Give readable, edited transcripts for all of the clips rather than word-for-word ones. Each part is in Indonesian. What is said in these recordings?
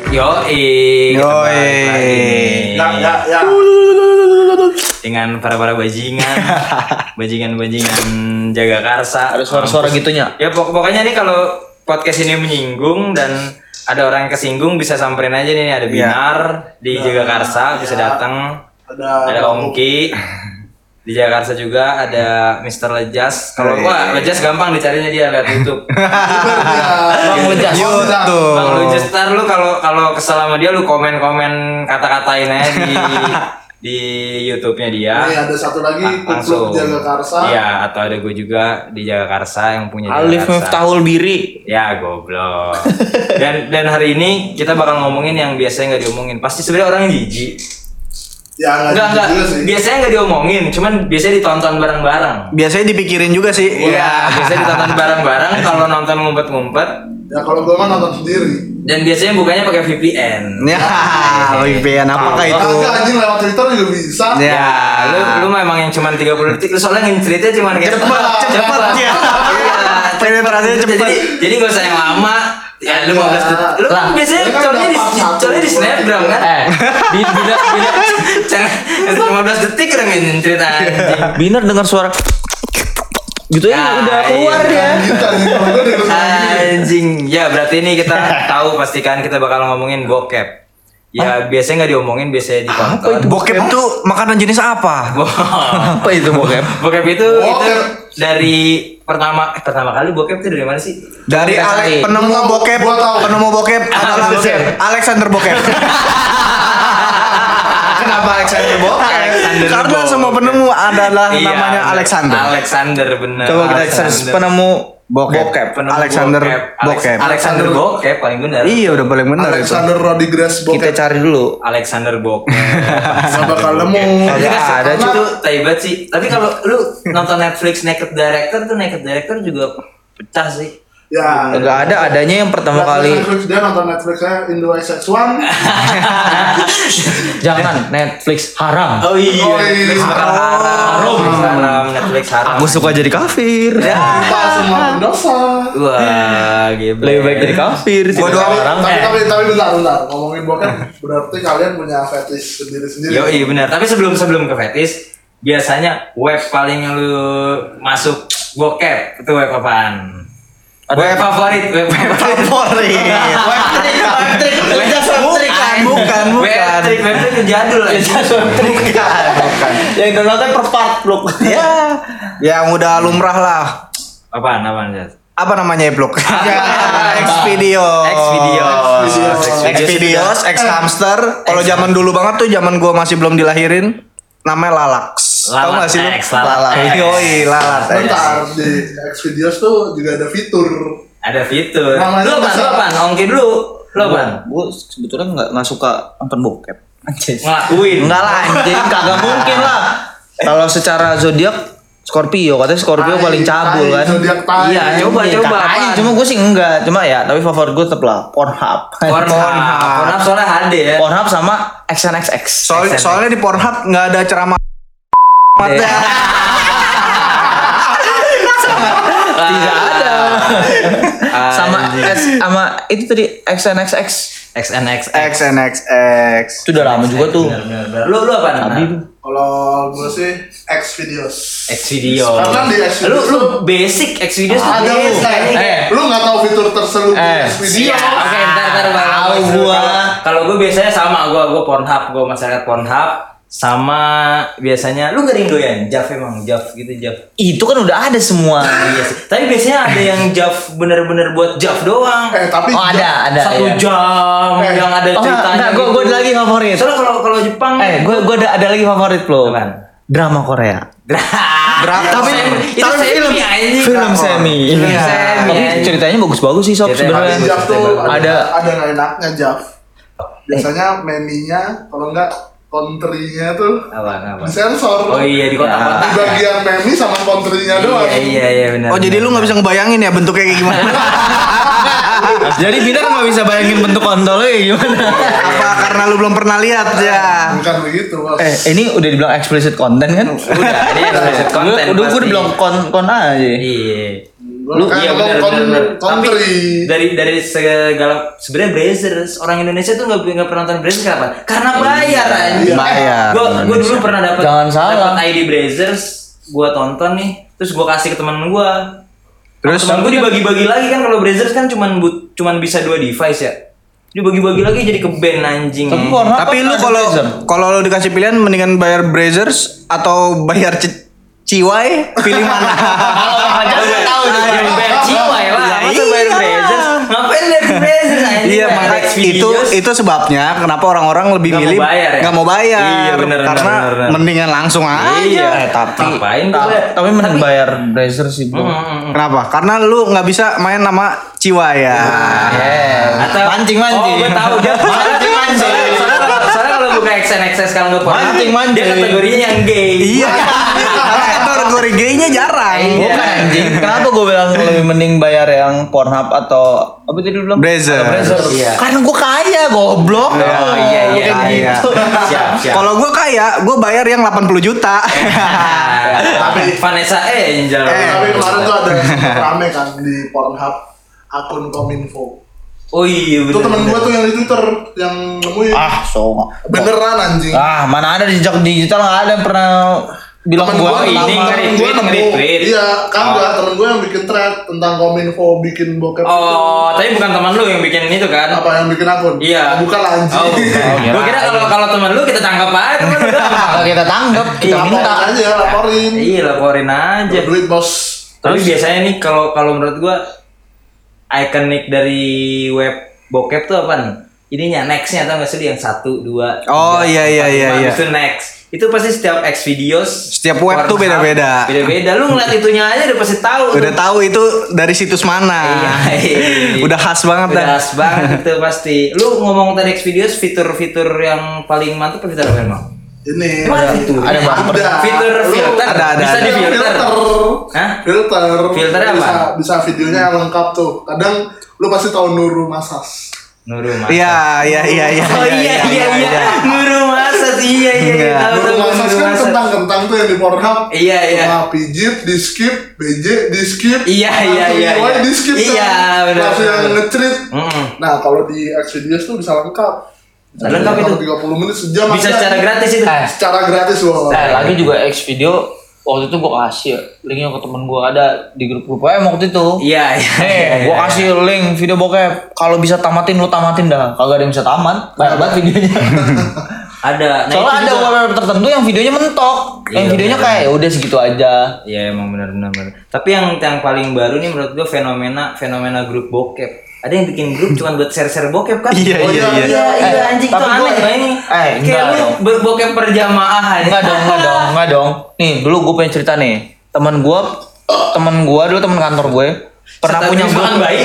Yoi. Ya. Dengan para bajingan, bajingan jaga karsa. Ada suara-suara gitunya. Ya pokoknya nih kalau podcast ini menyinggung dan ada orang yang kesinggung bisa samperin aja nih, ada Binar di Jaga Karsa bisa datang. Ada Ongki di Jakarta juga, ada Mr. Lejas. Kalau Lejas gampang dicarinya, dia lihat YouTube. Bang Lejas. Bang Lejas, ntar lu kalau kesel sama dia lu komen kata-katain aja di YouTube-nya dia. Nih ada satu lagi langsung Jaga Karsa. Iya, atau ada gue juga di Jaga Karsa yang punya Jaga Alif Karsa. Miftahul Biri. Ya goblok. Dan hari ini kita bakal ngomongin yang biasanya nggak diomongin. Pasti sebenarnya orang jijik. Ya Enggak. juga sih. Biasanya nggak diomongin, cuman biasanya ditonton bareng-bareng. Biasanya dipikirin juga sih. Iya, biasanya ditonton bareng-bareng. Kalau nonton ngumpet-ngumpet. Ya kalau gue mah nonton sendiri. Dan biasanya bukanya pakai VPN. Ya, VPN apakah itu? Kagak anjing lewat Twitter juga bisa. Ya, Lu memang yang cuma 30 detik. Lu soalnya ceritanya cuma kayak cepet ya. Penetrasinya cepet. Jadi gak usah yang lama. Ya lu 15 detik. Lu kan biasanya colnya di Snapgram kan? Bila 15 detik udah nginin cerita anjing. Binar dengar suara gitu ya, udah keluar dia. Anjing. Ya berarti ini kita tahu pastikan kita bakal ngomongin bokep. Ya biasanya nggak diomongin, biasanya ditonton. Bokep itu makanan jenis apa? Apa itu bokep? Bokep itu dari pertama kali bokep itu dari mana sih? Dari penemu bokep adalah Alexander Bokep. Kenapa Alexander Bokep? Karena semua penemu adalah namanya Alexander. Alexander bener. Coba kita search penemu bokep. Penemu Alexander Bokep. Alexander Bokep paling bener. Iya udah paling benar itu. Alexander Rodriguez Kita Bokep. cari dulu. Alexander Bokep. Gak bakal nemu. Ada Itu taibat sih. Tapi kalau lu nonton Netflix Naked Director juga pecah sih. Ya. Enggak ada, adanya yang pertama kali. Netflix dia nonton Netflixnya Indo XX1. Jangan Netflix haram. Oh iya, Netflix bakal haram. Netflix haram. Aku suka jadi kafir. Kita semua berdosa. Wah, gila. Lebih baik jadi kafir sih. Gua doang. Haram. Tapi bentar. Ngomongin bokep berarti kalian punya fetish sendiri-sendiri. Yo, iya benar. Tapi sebelum ke fetish, biasanya web paling lu masuk bokep itu web apaan? Web favorit. Bukan. Web trik jadul. Bukan. Yang downloadnya per part loh. Ya, yang udah lumrah lah. Apaan Jas? Apa namanya blog? Xvideos, X hamster. Kalau zaman dulu banget tuh, zaman gua masih belum dilahirin, namanya Lalax. Tahu nggak sih lu? Lalax. Yoi, Lalax. Bentar, di Xvideos tuh juga ada fitur. Ada fitur. Namanya Lu apaan? Ongki dulu. Lu apaan? Gue sebetulnya nggak suka nonton bokep. Anjir. Ngelakuin. Enggak lah anjing, kagak mungkin lah. Kalau secara zodiak Scorpio, katanya Scorpio paling cabul kan. Zodiak tai. Iya, coba. apaan? Cuma gue sih enggak, cuma ya, tapi favorit gue tetap lah Pornhub. Pornhub soalnya HD ya. Pornhub sama XNXX. Soalnya di Pornhub nggak ada ceramah. Tidak ada. sama itu tadi XNXX. XNXX. Itu udah lama juga tuh. Bener. Lu apaan? Abi. Kalau gue sih Xvideos. Xvideos. Karena di Xvideos Lu basic Xvideos tuh ada lu. Lu nggak tahu fitur terselubung Xvideos. Oke, ntar Tahu gua. Kalau gue biasanya sama gua Pornhub, gua masyarakat Pornhub sama biasanya lu gak doyan Jav gitu. Itu kan udah ada semua. Iya sih. Tapi biasanya ada yang Jav bener-bener buat Jav doang. Tapi Oh ada. 1 ya. jam yang ada ceritanya. Enggak, gue ada lagi favorit. Soalnya kalau Jepang Gue ada lagi favorit lo. Apaan? Drama Korea. Tapi Film semi. Tapi ceritanya bagus-bagus sih sob Ceritanya sebenarnya. Jav tuh Ada- ada nggak enaknya Jav. Biasanya meminya kalau enggak kontrinya tuh Apa? disensor. Oh iya di kota-kota. Di bagian memi sama kontrinya doang. Iya benar. Oh jadi lu nggak bisa ngebayangin ya bentuknya kayak gimana? Jadi Binar nggak bisa bayangin bentuk kontolnya kayak gimana. Apa karena lu belum pernah lihat ya? Bukan begitu, Bos. Ini udah dibilang explicit content kan? Udah, ini explicit content Udah gue pasti. dibilang kon aja. Iya. Lu Iya benar. Tapi country. dari segala sebenarnya Brazers orang Indonesia tuh nggak pernah nonton Brazers kenapa? Karena bayar anjing. Bayar. Gue dulu pernah dapat Jangan salah. ID Brazers, gue tonton nih, terus gue kasih ke teman gue. Terus Temen gue dibagi-bagi lagi kan kalau Brazers kan cuman bisa 2 device ya. Dibagi-bagi lagi jadi ke band anjing. tapi lu kalau lu dikasih pilihan mendingan bayar Brazers atau bayar Ciwai, pilih mana? Kalau tahu bayar Ciwai lah. Masa bayar Brazers? Ngapain bayar Brazers anjing? Iya, makanya itu sebabnya kenapa orang-orang lebih Nggak milih mau bayar ya? nggak mau bayar. Iya, bener, karena bener. mendingan langsung aja. Iya, tapi ngapain gua bayar? tapi mending bayar Brazer sih bro. Kenapa? Karena lu nggak bisa main nama Ciwai ya. Atau Mancing. Oh, gue tahu dia Mancing. Soalnya kalau buka XNXS kalau nggak pernah Mancing. dia kategorinya yang gay. Iya. Karena kategori gay-nya jarang. Bukan anjing. Kenapa gue bilang lebih mending bayar yang Pornhub atau apa tadi lu bilang? Brazer. Iya. Karena gue kaya goblok. Oh iya. Iya. Siap. Kalau gue kaya, gue bayar yang 80 juta. Tapi Vanessa Angel. Tapi kemarin tuh ada rame kan di Pornhub akun Kominfo. Oh iya Itu temen gua tuh yang di Twitter yang nemuin. Beneran anjing. Mana ada di jejak digital nggak ada yang pernah bilang Temen gue gua ini temen nge-retweet, gua nemu. nge-retweet. Iya, kan gua temen gua yang bikin thread tentang Kominfo bikin bokep. Oh, tapi bukan teman lu yang bikin itu kan? Apa yang bikin akun? Iya. Bukan lah anjing. Oh, bukan. Gua kira kalau teman lu kita tangkap aja teman lu. Kalau kita tanggap kita Iya, minta. Laporin aja, laporin. Iya, laporin aja. Duit bos. Tapi biasanya nih kalau menurut gua ikonik dari web bokep tuh apa nih? Ininya nextnya tau gak sih yang 1, 2, 3, Oh, iya. Itu next. Itu pasti setiap X videos. Setiap web tuh beda-beda. Beda-beda. Lu ngeliat itunya aja udah pasti tahu. Udah tahu itu dari situs mana. Iya. Udah khas banget Udah dah. khas banget itu pasti. Lu ngomong tadi X videos fitur-fitur yang paling mantap apa fitur apa emang? Ini Emang fitur? ada bumper. Fitur filter. Ada. Bisa di filter. Hah? Filter. Filternya apa? Bisa videonya yang lengkap tuh. Kadang lu pasti tahu Nurul Masas. Nurul Masas. Iya. Oh iya. Nurul Masas. Iya. Tahu Nurul Masas kan kentang-kentang tuh yang di Pornhub. Iya. Nah, pijit, di skip, BJ, di skip. Iya. Di skip Iya, benar. Langsung yang nge-treat. Mm-mm. Nah, kalau di X videos tuh bisa lengkap. Lengkap itu? 30 menit sejam. Bisa ada. secara gratis itu. Secara gratis loh. Lagi juga X video waktu itu gue kasih linknya ke temen gue ada di grup waktu itu. Iya. Gue kasih link video bokep. Kalau bisa tamatin lu tamatin dah. Kagak ada yang bisa tamat. Banyak banget videonya. Ada. Nah, Soalnya itu ada juga- web tertentu yang videonya mentok. Yang Iya, videonya bener. kayak udah segitu aja. Iya emang benar. Tapi yang paling baru nih menurut gue fenomena grup bokep. Ada yang bikin grup cuma buat share bokep kan? Iya. Iya anjing tuh tapi aneh gua- coba ini. enggak Kayak lu dong. bokep berjamaah aja. Enggak dong. Nih, dulu gue punya cerita nih. Temen gue dulu temen kantor gue pernah punya grup. baik.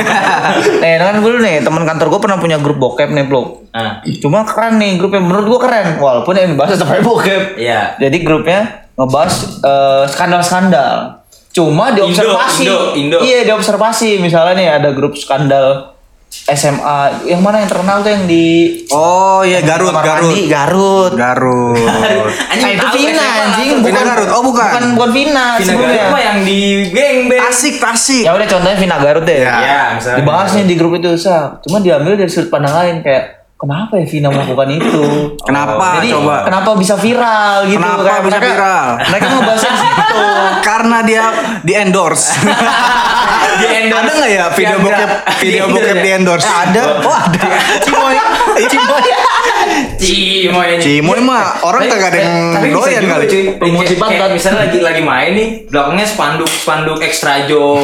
Kan dulu nih temen kantor gue pernah punya grup bokep nih, Bro. Nah, Cuma keren nih grupnya, menurut gue keren. Walaupun yang dibahas tetap aja bokep. iya. Jadi grupnya ngebahas skandal-skandal. Cuma diobservasi. Indo. Iya, diobservasi. Misalnya nih ada grup skandal SMA. Yang mana yang terkenal tuh yang di Oh iya, Garut. Mandi, Garut. Anjing itu tahu Vina SMA anjing, langsung. Vina Garut. Oh, bukan. Bukan Vina, Vina sebelumnya. Garut mah yang di geng beng. Tasik. Ya udah contohnya Vina Garut deh. Iya, misalnya. Dibahas nih di grup itu, Cuma diambil dari sudut pandang lain kayak kenapa ya Vina melakukan itu? Kenapa? Jadi Coba. kenapa bisa viral gitu? Kenapa Kayak bisa viral? Mereka ngebahasnya di situ. Karena dia di endorse. Ada nggak ya video bokep di endorse? Ada. Oh ada. Cimoy. Cimoy mah orang kagak ada yang doyan kali. Promosi pantat. Misalnya lagi main nih, belakangnya spanduk extra joe.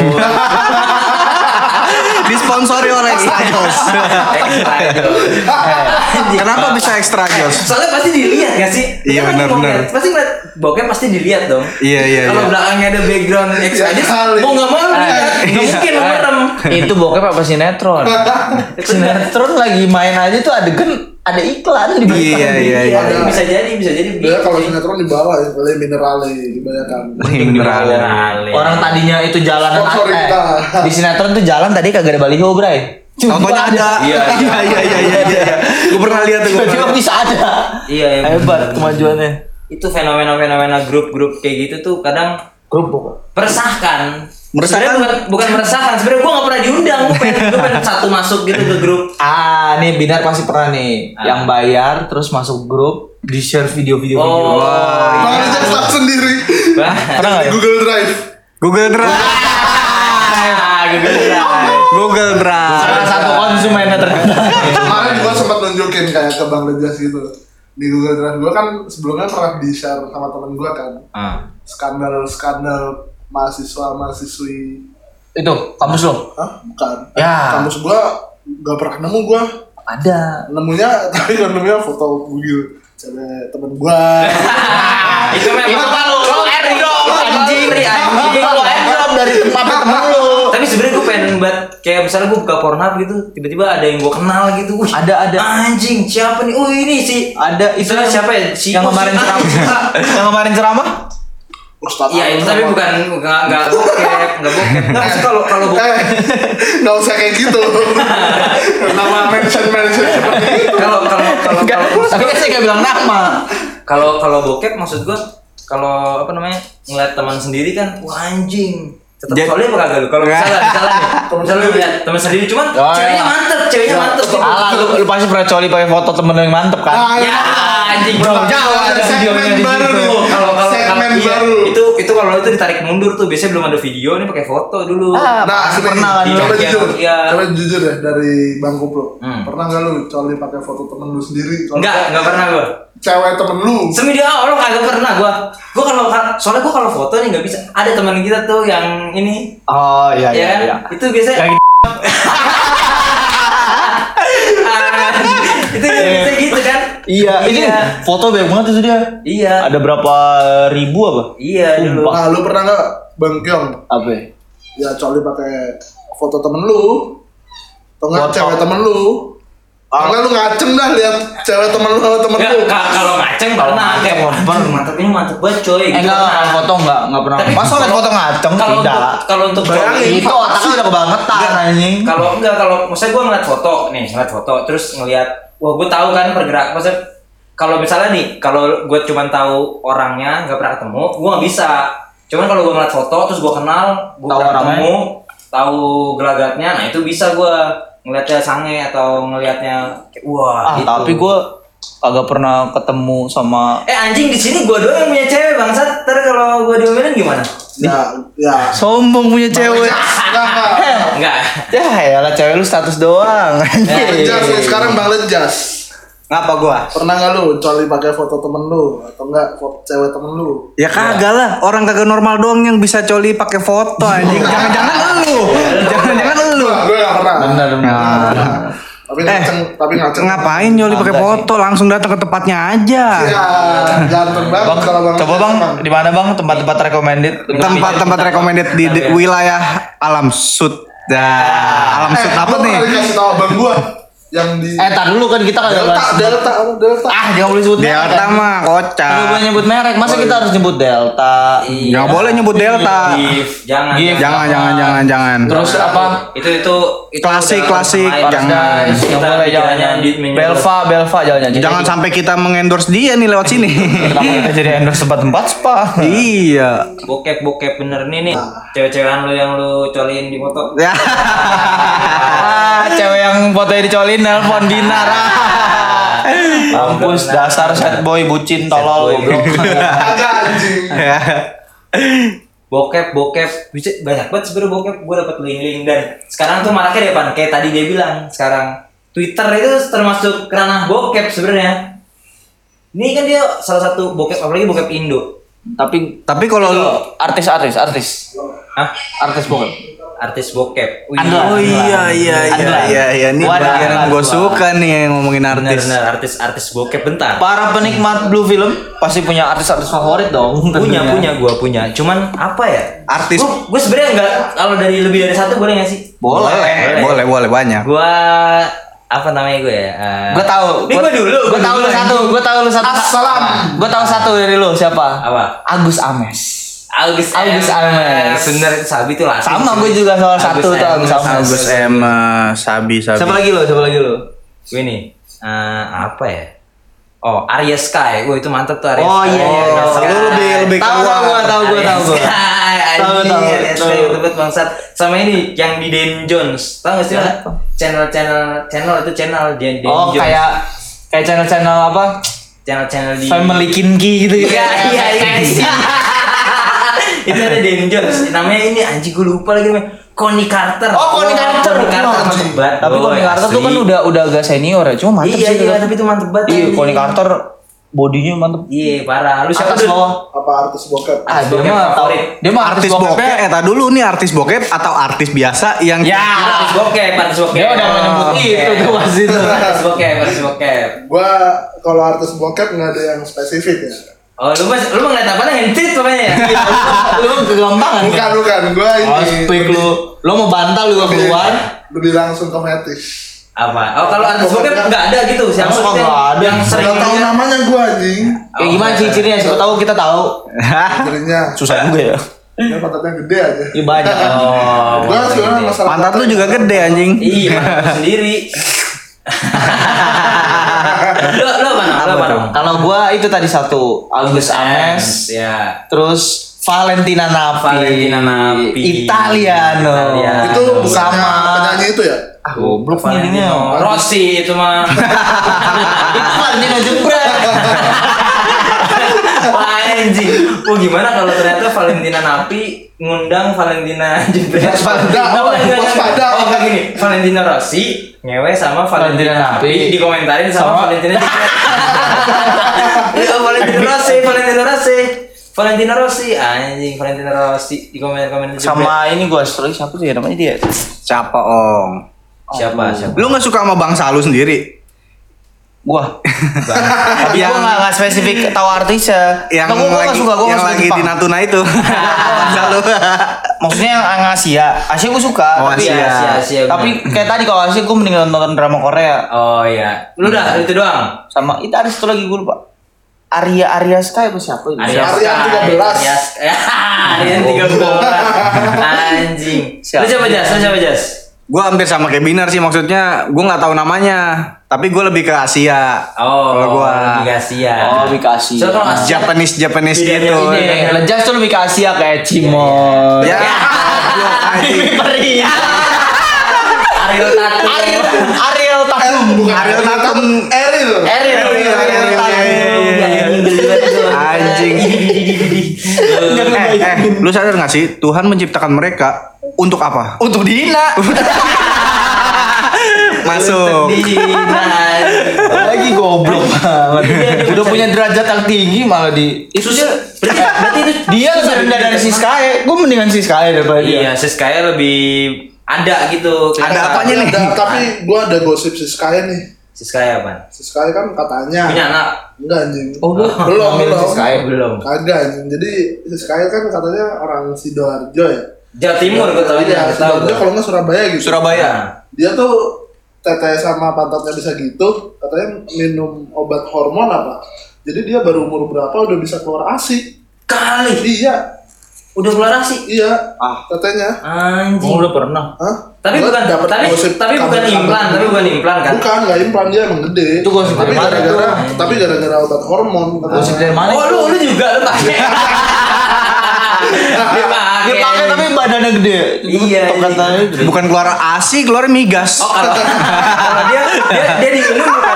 Disponsori oleh Extra Jos. Extra joe. Kenapa bisa Extra Jos? Soalnya pasti dilihat gak sih? Iya, Kan benar, mau benar. lihat, Pasti ngeliat bokep pasti dilihat dong. Iya. Kalau belakangnya ada background extra Iya, joe, kali. mau nggak mau lihat. Nggak mungkin lu merem. Itu bokep apa sinetron? Sinetron lagi main aja tuh ada iklan di belakang. Iya. Bisa jadi. Dia kalau sinetron di bawah ya, boleh minerale kebanyakan. Mineral. Orang tadinya itu jalanan Sponsor kita. di sinetron tuh jalan tadi kagak ada baliho, Bray. Contohnya ada. Iya. Gue pernah lihat tuh. Tiba-tiba bisa ada. Iya. Hebat kemajuannya. Itu fenomena grup-grup kayak gitu tuh kadang Grup bokep. meresahkan. Sebenarnya bukan meresahkan, sebenarnya gue nggak pernah diundang, gue pengen satu masuk gitu ke grup. Nih Binar pasti pernah nih yang bayar terus masuk grup di share video-video. Bang Lejas tak sendiri. Pernah nggak ya? Google Drive. Google Drive. Google Drive. Salah satu konsumennya ternyata. Kemarin gue sempat nunjukin kayak ke Bang Lejas gitu. Di Google Drive gue kan sebelumnya pernah di-share sama temen gue kan. Skandal mahasiswa-mahasiswi. Itu kampus lo? Hah? Bukan. Ya. Kampus gue gak pernah nemu gue. Ada. Nemunya tapi kan nemunya foto bugil cewek temen gue. Itu memang kalau airdrop anjing. Kalau airdrop dari tempat temen lu. Tapi sebenarnya gue pengen buat kayak misalnya gue buka Pornhub gitu, tiba-tiba ada yang gue kenal gitu. Wih, Ada. Anjing, siapa nih? Oh, ini sih. Ada itu Misalnya siapa ya? Si yang kemarin ceramah. Yang kemarin ceramah? Ustadz Iya, itu tapi bukan enggak bokep. Enggak sih kalau bokep. Nggak usah kayak gitu. Nama mention seperti itu. Kalau Tapi kan saya nggak bilang nama. kalau bokep maksud gue kalau apa namanya ngeliat teman sendiri kan wah anjing tetap soalnya apa kagak lu kalau misalnya lu lihat teman sendiri cuman ceweknya mantep gitu. Alah, lu pasti pernah coli pakai foto temen lu yang mantep kan? Ya anjing Bro, jauh ada videonya di situ. Kalau segmen iya, baru. itu kalau itu ditarik mundur tuh biasanya belum ada video nih pakai foto dulu. Pasti pernah kan lu. Coba Iya, jujur, iya. coba jujur deh dari Bang Kupro. Hmm. Pernah nggak lu coli pakai foto temen lu sendiri? Enggak pernah gua. Cewek temen lu. Semi dia Allah kagak pernah gua soalnya gua kalau foto nih nggak bisa. Ada teman kita tuh yang ini. Oh iya. Itu biasanya itu biasa gitu kan. Iya, ini foto banyak banget itu dia. Iya. Ada berapa ribu apa? Iya dulu. Nah, lu pernah nggak Bang Kyong? Apa? Ya coli pakai foto temen lu. Atau nggak Foto. cewek temen lu? Karena lu ngaceng dah lihat cewek temen lu sama temen lu. Kalau ngaceng pernah kayak mantep ini mantep banget coy. Gitu. Enggak, foto enggak pernah. Tapi Masa lihat foto ngaceng? Kalau untuk Bayangin. Itu otaknya udah kebangetan anjing. kalau maksudnya gue ngeliat foto terus ngeliat wah gue tahu kan pergerakan maksudnya kalau misalnya nih kalau gue cuma tahu orangnya nggak pernah ketemu gue nggak bisa cuman kalau gue ngeliat foto terus gue kenal gue Tahu pernah orangnya. ketemu tahu gelagatnya nah itu bisa gue ngeliatnya sange atau ngeliatnya kayak, wah gitu. Tapi gue agak pernah ketemu sama anjing di sini gue doang yang punya cewek bangsat ntar kalau gue diomelin gimana Ya. sombong punya cewek. enggak Ya lah cewek lu status doang. Bang Lejas nih sekarang Bang Lejas. Ngapa gua? Pernah nggak lu coli pakai foto temen lu atau enggak foto cewek temen lu? Ya kagak lah, orang kagak normal doang yang bisa coli pakai foto anjing. Jangan-jangan lu. Jangan-jangan lu. Gue nggak pernah. Benar. Tapi ngaceng. Ngapain nyoli pakai foto? Langsung datang ke tempatnya aja. Ya, ganteng banget kalau Bang. Coba Bang, di mana Bang tempat-tempat recommended? Tempat-tempat recommended di wilayah Alam Sud. Alam Sud apa Gua nih? pernah dikasih tahu abang gua yang di Tar dulu kan kita kagak bahas. Delta. Jangan boleh sebut merek. Delta mah Nggak kocak. boleh nyebut merek. Masa kita harus nyebut Delta? Nggak boleh nyebut Delta. jangan Jangan. Terus apa? itu Klasik. Jangan. Nggak boleh jangan. Belva jangan. Jangan sampai kita mengendorse dia nih lewat sini. Kenapa kita jadi endorse tempat spa? Iya. bokep bener nih cewek-cewekan lu yang lu coliin di foto Ya. Cewek yang fotonya dicolin nelpon Binar. Mampus dasar sad boy bucin tolol goblok. Agak anjing. bokep bisa banyak banget sebenarnya bokep gue dapat link dan sekarang tuh maraknya depan kayak tadi dia bilang sekarang Twitter itu termasuk ranah bokep sebenarnya ini kan dia salah satu bokep apalagi bokep Indo Tapi kalau lu artis Hah? artis bokep Wih, Oh iya. Ini bagian yang gue suka nih yang ngomongin artis. benar artis bokep bentar para penikmat blue film pasti punya artis favorit dong. punya punya cuman apa ya Artis. gue sebenarnya enggak kalau dari lebih dari satu boleh nggak sih Boleh banyak. gue apa namanya gue ya Gue tahu. Ini gue dulu. Gue tahu lu satu. Assalam. Gue tahu satu dari lu siapa? Apa? Agus Ames. Agus Ames. Bener Sabi tuh lah. Sama gue juga salah satu tuh Agus Ames. Agus Sabi. Siapa lagi lu? Gue nih apa ya? Oh, Arya Sky. Wah, itu mantep tuh Arya Oh Sky. iya. Arya Sky. Lu lebih Tahu keluar. gue. Arya Sky. Tahu. Tebet bangsat. Sama ini yang di Dan Jones. Tahu enggak sih? Channel itu channel Dan Oh, Jones. kayak channel-channel apa? Channel di Family Kinky gitu. Iya. Itu ada Dan Jones. Namanya ini anjing gue lupa lagi namanya. Connie Carter. Oh, Connie Carter. mantep banget. Tapi Connie Carter tuh kan udah agak senior ya. Cuma mantep sih. Iya, tapi itu mantep banget. Iya, Connie Carter bodinya mantep. Iya, parah. Lu siapa Atas dulu? bawah. Apa artis bokep? Dia mah Artis bokep, dulu nih artis bokep atau artis biasa yang Ya. Artis bokep. Dia udah menyebut itu tuh pasti tuh. Artis bokep. Gua kalau artis bokep nggak ada yang spesifik ya. Oh, lu ngeliat apa nih? Hentit pokoknya ya. Lu kegampangan. Bukan. Gua Oh, ini speak lu mau bantal lu keluar. lebih langsung ke fetish. Apa? Oh, kalau artis bokep enggak ada gitu. Siapa Masa sih nggak ada? yang sering Nggak tahu namanya gua anjing. Kayak gimana ciri-cirinya? Siapa tahu kita tahu. Jadinya Susah juga ya. dia pantatnya gede aja. Iya banyak. Oh, Gua sebenarnya masalah pantat lu juga gede anjing. Iya, mantap sendiri. Lo mana? Kalau gua itu tadi satu Agus Ames, Ya. terus Valentina Nappi, Nappi. Italiano. itu bukan sama penyanyi itu ya? goblok nih ini. Rossi itu mah. Itu Valentino jebret. Wah, anjing. Oh, gimana kalau ternyata Valentina Nappi ngundang Valentina Jebret? Waspada. Oh, kayak gini. Valentina Rossi ngewe sama Valentina Valentina Nappi Nappi. dikomentarin sama Valentina Jebret. Iya, Valentina Rossi, anjing Valentina Rossi di komen Jebret. Sama ini gua story siapa sih namanya dia? Siapa Ong? Siapa? Lu nggak suka sama bangsa lu sendiri? Gua. Tapi gua enggak spesifik tahu artisnya. Yang Nggak, gua nggak suka, gua yang nggak suka lagi Jepang. di Natuna itu. Bangsa lu. Maksudnya yang Asia. Asia gua suka. Oh, tapi Asia, tapi kayak tadi kalau Asia gua mending nonton drama Korea. Oh iya. Lu udah itu doang. Sama itu ada satu lagi gua lupa. Arya Sky apa siapa itu? Aryan 13. Aryan 13. Anjing. Lu siapa Jas? Gua hampir sama kayak Binar sih, maksudnya gua nggak tahu namanya, tapi gua lebih ke Asia. Oh, kalau gua lebih ke Asia. Oh, lebih ke Asia. So, kalau Asia, Japanese Bedanya gitu. ini. Lejas tuh lebih ke Asia kayak Cimon. Ya. goblok, anjing. Ariel Tatum. Ariel Tatum. Ariel Tatum. Eril. Anjing. Lu sadar gak sih Tuhan menciptakan mereka untuk apa? Untuk Dina. Masuk. Lagi goblok banget. Udah punya derajat yang tinggi malah di itu dia. Berarti itu Dia lebih rendah dari Siskae. Gue mendingan Siskae daripada dia. Iya, Siskae lebih ada gitu. Ada apanya nih? Tapi gua ada gosip Siskae nih. Siskae apa? Siskae kan katanya Punya anak? enggak anjing. Oh, belum. Siskae. Belum. Kagak anjing. Jadi Siskae kan katanya orang Sidoarjo ya. Jawa Timur gue tahu Iya, aja. Tahu. Sidoarjo kalau nggak Surabaya gitu. Surabaya. Dia tuh teteh sama pantatnya bisa gitu, katanya minum obat hormon apa. Jadi dia baru umur berapa udah bisa keluar ASI. Kali. Iya, Udah keluar ASI. iya. Tetehnya. Anjing. Oh, udah pernah. Hah? Tapi Gua bukan dapet tapi gosip bukan kabar-kabar. implan kan? Bukan, nggak implan, dia emang gede. Itu gosip tapi dari mana gara-gara obat hormon. Gosip dari mana? Oh, lu juga lu pakai. Dia pakai tapi badannya gede. Iya, Katanya gede. Bukan keluar ASI, keluar migas. Oh, kalau dia diminum bukan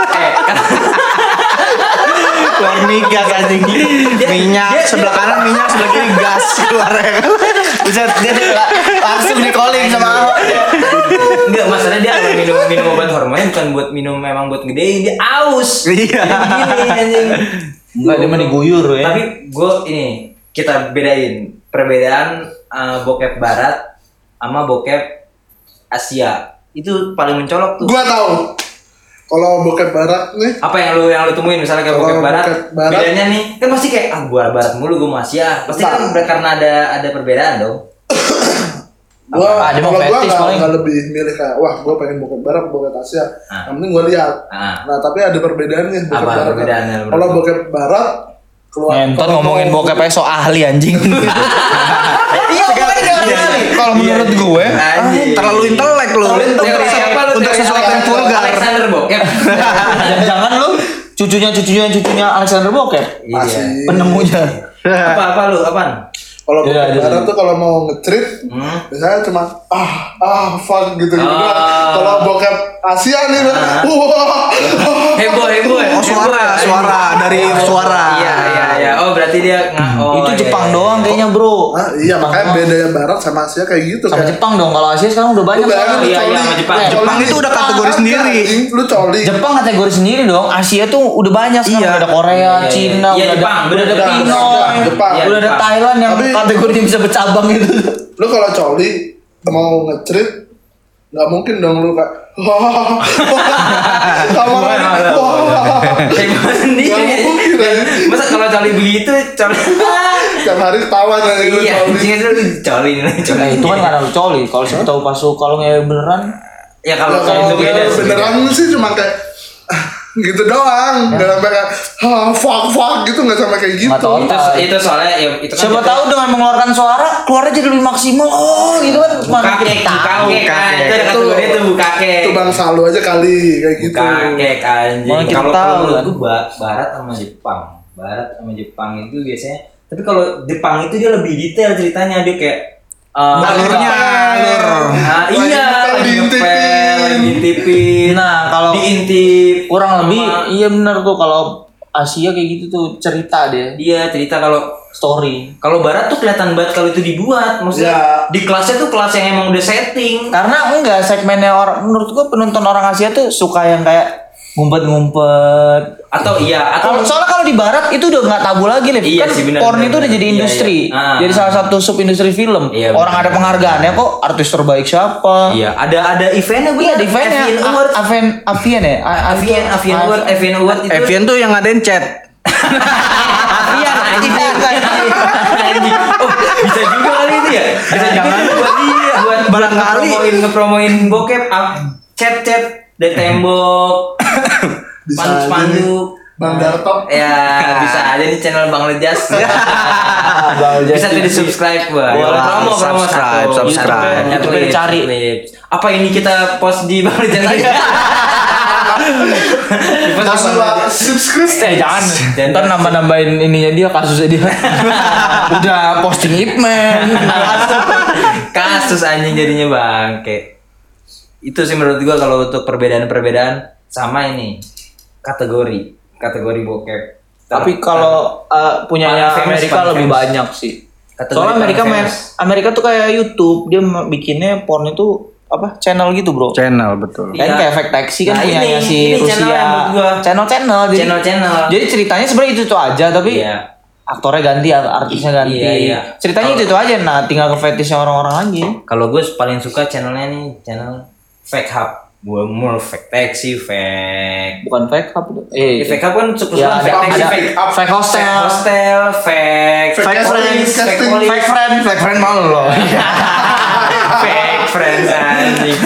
Keluar migas anjing. Minyak sebelah kanan, minyak sebelah kiri gas keluar. Bisa dia langsung di calling sama Ahok. enggak, masalahnya dia kalau minum obat hormonnya bukan buat minum, memang buat gedein, dia aus. Iya. Jadi gini anjing. Enggak, dia mah diguyur ya. Tapi gue ini kita bedain perbedaan bokep barat sama bokep Asia. Itu paling mencolok tuh. Gua tahu. Kalau bokep barat nih, Apa yang lu temuin misalnya kayak Kalau bokep barat, bokep barat- bedanya nih kan pasti kayak gua barat mulu gua mau Asia. Pasti kan karena ada perbedaan dong. gua dia mau kalau gua fetish paling. nggak lebih milih kayak wah gua pengen bokep barat bokep Asia. Ah. Yang penting gua lihat. Ah. Nah tapi ada perbedaannya bokep Apa barat. perbedaannya? Kalau bokep barat keluar. Ngentot kalau ngomongin mau- bokep so ahli anjing. Iya, pokoknya dia ahli. Kalau menurut gue, Anjing. Terlalu intelek lu. Untuk sesuatu yang vulgar. Alexander bokep. jangan lu cucunya Alexander Bokep. Iya. Penemunya. Apa lu? Apaan? Kalau Iya, bokep iya, barat iya. tuh kalau mau nge-treat biasanya cuma fuck gitu gitu doang. Kalau bokep Asia nih wah Heboh ya. Oh suara dari suara. Iya. Oh berarti dia Itu Jepang doang kayaknya, Bro. iya makanya bedanya barat sama Asia kayak gitu Sama kayak Jepang dong. Kalau Asia sekarang udah banyak. bayangin lu Iya, coli. sama Jepang. Jepang itu udah kategori sendiri. Lu coli. Jepang kategori sendiri dong. Asia tuh udah banyak sekarang. Iya. Udah ada Korea, Iya. Cina, Iya, udah Jepang, ada bener, bener. Pinoy, Jepang. Iya, udah ada Jepang. Thailand yang Tapi- kategorinya bisa bercabang gitu. Lu kalau coli mau nge-treat nggak mungkin dong lu kayak kamar Heboh sendiri. Nggak mungkin, ya. Masa kalau coli begitu coli. tiap hari ketawa nih lu Iya, coli. anjing itu coli. Nah, itu kan karena lu coli. Kalau siapa tahu pas lu kalau ngewe beneran, Ya kalau Kalau itu beda sih. beneran sih cuma kayak gitu doang, nggak sampai kayak fuck gitu, nggak sampai kayak gitu. Nggak tahu. Itu soalnya ya itu kan siapa kita- tahu dengan mengeluarkan suara keluarnya jadi lebih maksimal. Oh, gitu kan. Mana kita Bukakek, tahu. bukakek kan. Itu ada kategori itu bukakek. Itu bangsa lu aja kali kayak gitu. Bukakek anjing. Mana kita Kalau tahu, menurut kan. gue barat sama Jepang. Barat sama Jepang itu biasanya. Tapi kalau Jepang itu dia lebih detail ceritanya, dia kayak Alurnya, alur. iya, lagi ngepel, lagi ngintipin. Nah, kalau diintip kurang lebih sama- iya benar tuh kalau Asia kayak gitu tuh cerita dia, dia cerita kalau story. kalau barat tuh kelihatan banget kalau itu dibuat, maksudnya Ya. di kelasnya tuh kelas yang emang udah setting. Karena enggak segmennya orang, menurut gua penonton orang Asia tuh suka yang kayak ngumpet-ngumpet. Atau Kalau soalnya kalau di barat itu udah nggak tabu lagi, Liv. Iya Kan sih, benar, porn benar, itu udah benar. jadi Iya, industri. iya. Ah. Jadi salah satu sub industri film. Iya, Orang benar. ada penghargaannya kok, artis terbaik siapa. iya, ada eventnya Iya, di eventnya Avian Award. Avian ya? Avian Award itu. Evian tuh yang ngadain chat. Avian anjing. Anjing. Oh, bisa juga kali itu ya. Bisa juga tuh buat Barangkali. ngepromoin bokep chat dari tembok. Bisa aja Spanduk. Bang Darto. Ya, bisa aja nih channel Bang Lejas. Bisa tuh di subscribe gua. Boleh, Promo subscribe, satu. subscribe. Satu. YouTube Clips, cari. clips. Apa ini kita post di Bang Lejas aja? Di post di Langsung Bang Lejas. subscribe. Jangan. Ntar nambah-nambahin ininya dia, kasusnya dia. Udah posting Ipman. Kasus anjing jadinya bangke. Itu sih menurut gua kalau untuk perbedaan-perbedaan sama ini kategori bokep. Tapi kalau punyanya Paling famous, Amerika paling lebih famous. banyak sih. Kategori Soalnya Amerika paling famous. Amerika tuh kayak YouTube, dia bikinnya porn itu apa channel gitu, Bro. Channel betul. Kan Iya. kayak efek taxi kan Nah, punyanya ini si channel Rusia. yang menurut gua. Channel-channel. Channel-channel. Jadi ceritanya sebenarnya itu tuh aja, tapi Iya. aktornya ganti, artisnya ganti. Iya, iya. Ceritanya itu aja. Nah, tinggal ke fetishnya orang-orang lagi. Kalau gue paling suka channelnya nih, channel Fake Hub. Gue mau fake taxi, fake. Bukan fake hub. Fake Hub kan suka Ya, fake taxi, ada fake fake hostel. Fake hostel, fake Fake friends, fake casting. police, Fake friend mau lo. fake friends anjing.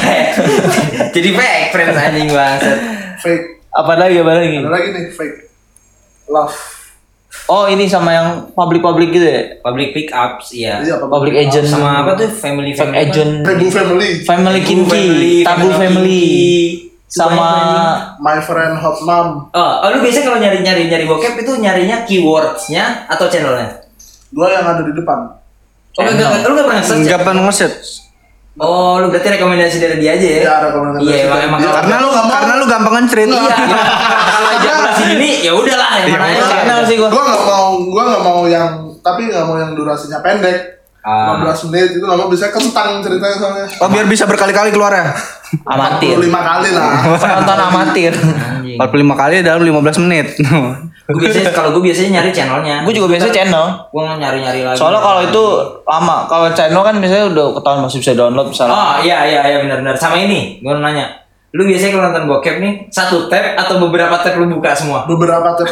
Jadi fake friends anjing banget. Fake. Apa lagi? Ada lagi nih fake love. Oh, ini sama yang public gitu ya? Public pick ups, iya. Iya, apa Public agent. Sama apa tuh family Fake family agent. Tabu family. Family Kinky, Tabu Family. Sama My friend hot mom. Oh, lu biasanya kalau nyari bokep itu nyarinya keywordsnya atau channelnya? Dua yang ada di depan. Oh, lu nggak pernah search? Enggak pernah nge-set. Oh, lu berarti rekomendasi dari dia aja ya? Iya, rekomendasi Iya, dari emang dia. Karena lu gampang nge-treat. Iya. Kalau ejakulasi dini ya udahlah yang mana aja. channel sih gua. Gua nggak mau yang durasinya pendek. 15 menit itu nggak mau, bisa kentang ceritanya soalnya. Oh biar bisa berkali-kali keluar ya. amatir. 45 kali lah. Penonton amatir. Anjing. 45 kali dalam 15 menit. Kalau gue biasanya nyari channelnya. Gue juga biasa channel. Gue nyari lagi. Soalnya kalau itu lama. Kalau channel kan misalnya udah ketahuan masih bisa download misalnya. Oh iya benar. Sama ini, gue nanya. Lu biasanya kalau nonton bokep nih, satu tab atau beberapa tab lu buka semua? Beberapa tab.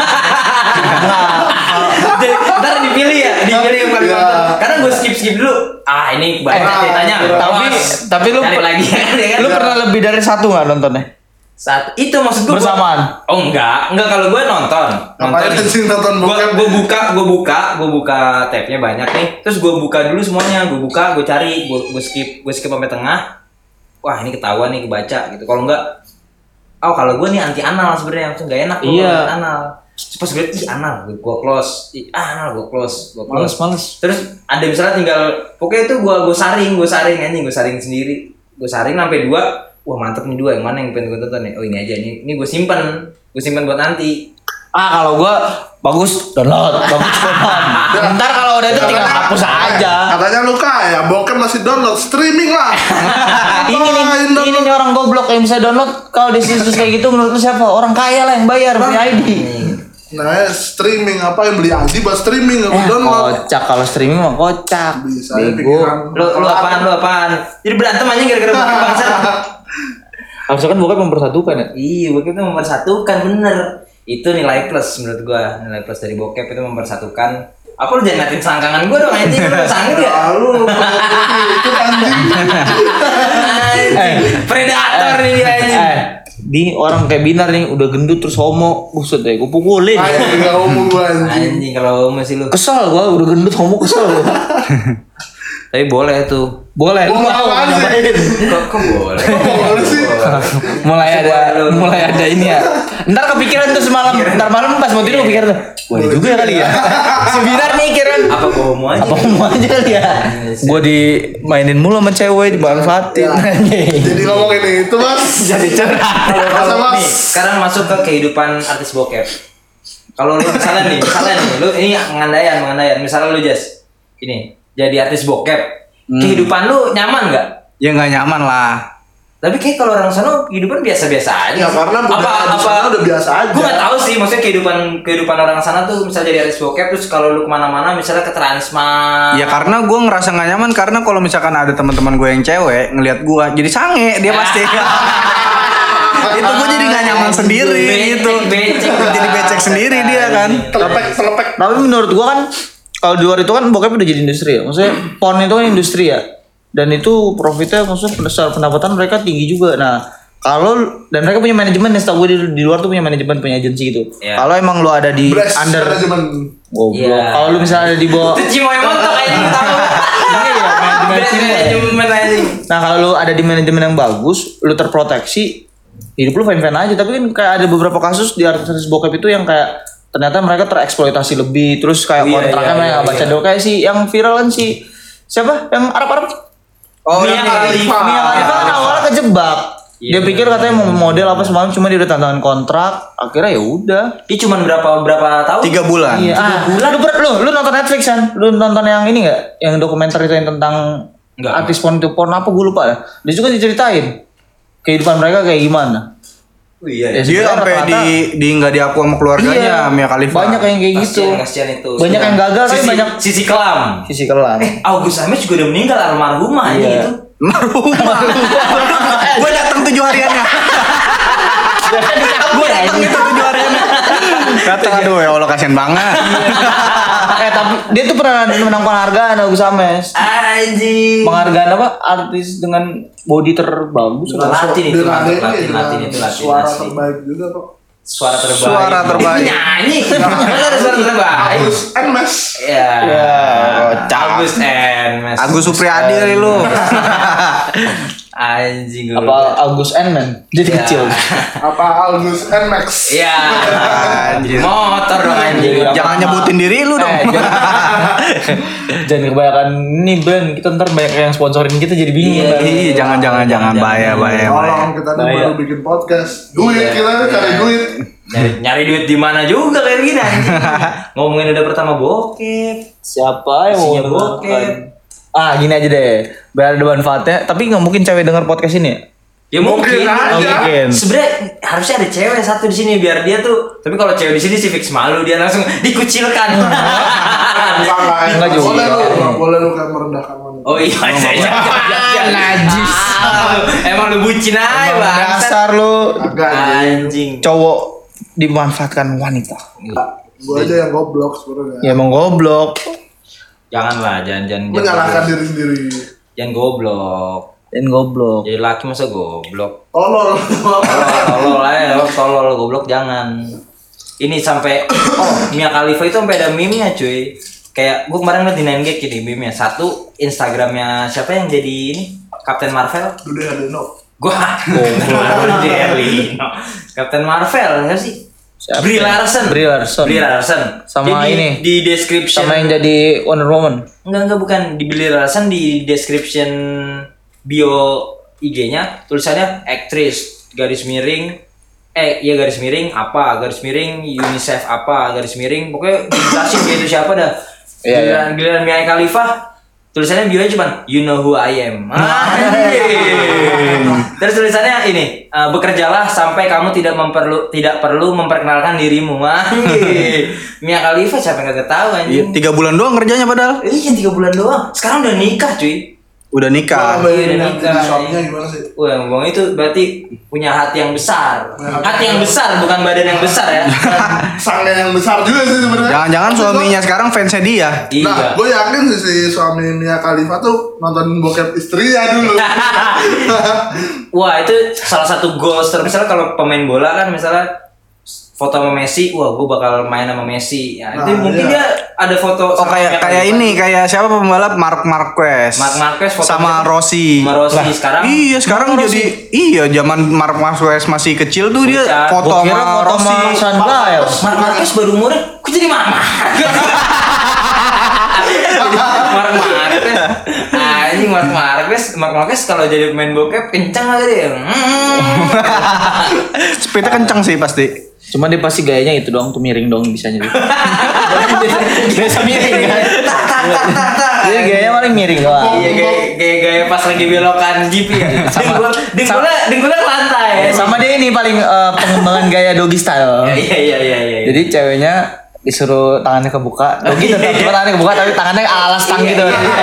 Jadi, ntar dipilih yang paling Iya. nonton. Karena gue skip dulu. Ini banyak ceritanya. Tapi lu cari lagi ya kan? lu pernah lebih dari satu nggak nontonnya? Saat itu maksud gue Bersamaan? Oh enggak kalau gue nonton. Ngapain sih nonton bokep? Gue buka tabnya banyak nih. Terus gue buka dulu semuanya. Gue buka, gue cari, gue skip sampai tengah. Wah ini ketahuan nih kebaca gitu. Kalau enggak, kalau gue nih anti anal sebenarnya, maksudnya nggak enak kalau Iya. anti anal. Terus pas gue liat, ih anal, gue close. Anal, gue close. Males. Terus ada misalnya tinggal, pokoknya itu gue saring anjing, gue saring sendiri. Gue saring sampai 2. Wah mantep nih 2, yang mana yang pengen gue tonton nih? Oh ini aja, ini gue simpen buat nanti. Kalau gua bagus download. Ntar kalau udah itu tinggal hapus aja. Katanya lu kaya, bokep masih download, streaming lah. Ini nih orang goblok yang bisa download. Kalau di situs kayak gitu menurut lu siapa? Orang kaya lah yang bayar punya ID. Nah, streaming apa yang beli ID buat streaming nggak download. Kocak kalau streaming mah kocak. Bisa Bego. Lu apaan? Jadi berantem aja gara-gara bokep bangsat. Harusnya kan bokep mempersatukan ya. Iya, bokep itu mempersatukan bener. Itu nilai plus menurut gua. Nilai plus dari bokep itu mempersatukan. Apa lu jangan ngatin selangkangan gua dong anjing, lu sangit ya? Lalu itu anjing. Predator nih dia anjing. Di orang kayak Binar nih udah gendut terus homo, buset deh, gue pukulin. Kayak enggak ngomong gua anjing. Anjing kalau masih lu. Kesel gua udah gendut homo kesel gua. Tapi boleh tuh. Boleh, lu Boleh mau apaan sih? ngapain? Kok boleh? Boleh sih. mulai ada ini ya. Ntar kepikiran tuh semalam, ntar malam pas mau tidur kepikiran tuh. Boleh juga ya kali ya. Si Binar nih kiran. Apa gua mau aja? Apa mau aja kali ya? Gua dimainin mulu sama cewek, dimanfaatin. Jadi ngomongin itu mas. Jadi curhat. Masa mas. Nih, sekarang masuk ke kehidupan artis bokep. Kalau lu misalnya nih, lu ini mengandaian. Misalnya lu Jas, ini jadi artis bokep. Kehidupan lu nyaman nggak? Ya nggak nyaman lah. Tapi kayak kalau orang sana kehidupan biasa-biasa aja. Ya karena budaya di sana udah biasa aja. Gue nggak tahu sih, maksudnya kehidupan orang sana tuh misalnya jadi artis bokep terus kalau lu kemana-mana misalnya ke Transmart. Ya karena gue ngerasa nggak nyaman karena kalau misalkan ada teman-teman gue yang cewek ngelihat gue jadi sange dia pasti. Itu gue jadi nggak nyaman sendiri gitu. Jadi becek sendiri dia kan. Telepek. Tapi menurut gua kan kalau di luar itu kan bokep udah jadi industri ya. Maksudnya porn itu kan industri ya. Dan itu profitnya maksudnya secara pendapatan mereka tinggi juga. Nah, dan mereka punya manajemen ya, setahu gue di luar tuh punya manajemen, punya agensi gitu. Yeah. Kalau emang lu ada di Bless under manajemen. goblok. Yeah. Kalau lu misalnya ada di bawah Itu Cimoy montok kayaknya tahu. Manajemen anjing. Nah, kalau lu ada di manajemen yang bagus, lu terproteksi, hidup lu fine-fine aja. Tapi kan kayak ada beberapa kasus di artis bokep itu yang kayak ternyata mereka tereksploitasi lebih, terus kayak kontraknya mereka baca doa kayak si yang viral kan si siapa yang Arab Oh, Mia Khalifa. Mia Khalifa kan awalnya kejebak. Dia pikir katanya mau model apa semalam, cuma dia udah tantangan kontrak, akhirnya ya udah. Dia cuma berapa tahun? 3 bulan. Iya. Lu nonton Netflix kan? Lu nonton yang ini enggak? Yang dokumenter itu yang tentang Enggak. artis porn apa gue lupa ya. Dia juga diceritain kehidupan mereka kayak gimana. Oh iya. Ya, Dia sampai di nggak diaku sama keluarganya Mia Khalifa. Banyak yang kayak gitu. Kasian itu. Banyak yang gagal tapi banyak sisi kelam. sisi kelam. August Ames juga udah meninggal almarhumah Iya. itu. Rumah. Gue datang 7 hariannya. Gue datang itu 7 hariannya. Datang aduh ya Allah kasihan banget. Tapi dia tuh pernah menang penghargaan Agus Ames. Anjing. Penghargaan apa? Artis dengan body terbagus. Latin itu, Latin itu Suara asli. terbaik juga kok. Suara terbaik. Suara terbaik. Dia nyanyi. Mana ada suara terbaik? Agus Mes. Ya. kocak. Agus Mes. Agus Supriyadi kali lu. Anjing gue. Apa Agus N-Man? Jadi Ya. kecil. Apa Agus Max? Iya. Anjir. Motor dong anjing. Jangan nyebutin diri lu dong. Jangan kebanyakan nih Ben, kita ntar banyak yang sponsorin kita jadi bingung. Iya, ntar. Iya, jangan bahaya. Tolong kita nih Bahaya. baru bikin podcast. Duit Iya. kita nih cari duit. Nyari duit di mana juga kayak gini anjing. Ngomongin udah pertama bokep. Siapa yang mau Isinya mendengarkan? bokep. Gini aja deh, biar ada manfaatnya. Tapi nggak mungkin cewek denger podcast ini ya? Ya mungkin Mungkin aja. Mungkin. Sebenarnya harusnya ada cewek satu di sini biar dia tuh. Tapi kalau cewek di sini sih fix malu, dia langsung dikucilkan. Bukan lah. Enggak juga. Boleh lu kayak merendahkan wanita. Oh iya, najis. Emang lu bucin aja, Bang. Dasar lu Agak. Anjing. cowok dimanfaatkan wanita. Gue aja yang goblok sebenarnya. Ya emang goblok. Janganlah, jangan Menyalahkan diri sendiri. Jangan goblok. Dan goblok. Jadi laki masa goblok. Tolol. Tolol goblok jangan. Ini sampai Mia Khalifa itu sampai ada meme-nya cuy. Kayak gua kemarin ngeliat di 9gag ini meme-nya. Satu Instagramnya siapa yang jadi ini? Captain Marvel? Dude Hadeno. Gua Captain Marvel. Captain Marvel ya sih? Siapa? Brie Larson. Brie Larson. Sama Jadi, ini. di description. Sama yang jadi Wonder Woman. Enggak bukan di Brie Larson, di description bio IG-nya tulisannya aktris garis miring garis miring apa, garis miring UNICEF apa, garis miring pokoknya dijelasin dia itu siapa dah. Iya, Giliran Mia Khalifa tulisannya bio-nya cuman you know who I am. Terus tulisannya ini, bekerjalah sampai kamu tidak perlu memperkenalkan dirimu. Mia Khalifa siapa yang kagak tahu Iya, anjing. 3 bulan doang kerjanya padahal. Iya 3 bulan doang. Sekarang udah nikah cuy. Udah nikah. Bayangin Iya, yang nikah. jadi shopnya gimana sih? Wah, ngomong itu berarti punya hati yang besar. Hati yang besar, bukan badan yang besar ya. Sange yang besar juga sih sebenarnya. Jangan-jangan suaminya sekarang fansnya dia. Nah, Iya. gue yakin sih si suami Mia Khalifa tuh nonton bokep istrinya dulu. Wah, itu salah satu goals terbesar kalau pemain bola kan misalnya foto sama Messi, wah gue bakal main sama Messi. Ya, itu Nah, mungkin iya. dia ada foto Oh kayak ini kayak siapa pembalap Marc Marquez. Marc Marquez foto sama Rossi. sama Rossi sekarang. Iya sekarang jadi zaman Marc Marquez masih kecil tuh dia Bocah. foto Gua kira sama foto Rossi. sama Sandra ya. Marc Marquez baru umurnya, kok jadi mama? Marc Marquez. Anjing Marc Marquez kalau jadi pemain bokep kencang aja dia. Speednya kencang sih pasti. Cuma dia pasti gayanya itu doang tuh miring doang bisanya dia. Biasa miring kan. Dia gayanya paling miring doang. Iya gaya pas lagi belokan GP ya. Dengkulnya ke lantai. Sama dia ini paling pengembangan gaya doggy style. Iya. Jadi ceweknya disuruh tangannya kebuka, doggy tetap cuma tangannya kebuka tapi tangannya alas tang gitu.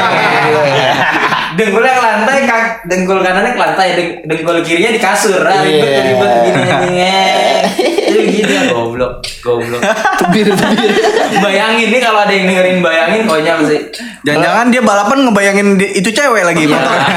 Dengkulnya ke lantai, dengkul kanannya ke lantai, dengkul kirinya di kasur. Ribet gini. Itu gitu ya goblok. Tebir. Bayangin nih kalau ada yang dengerin bayangin konyol sih. Jangan-jangan dia balapan ngebayangin itu cewek lagi motornya.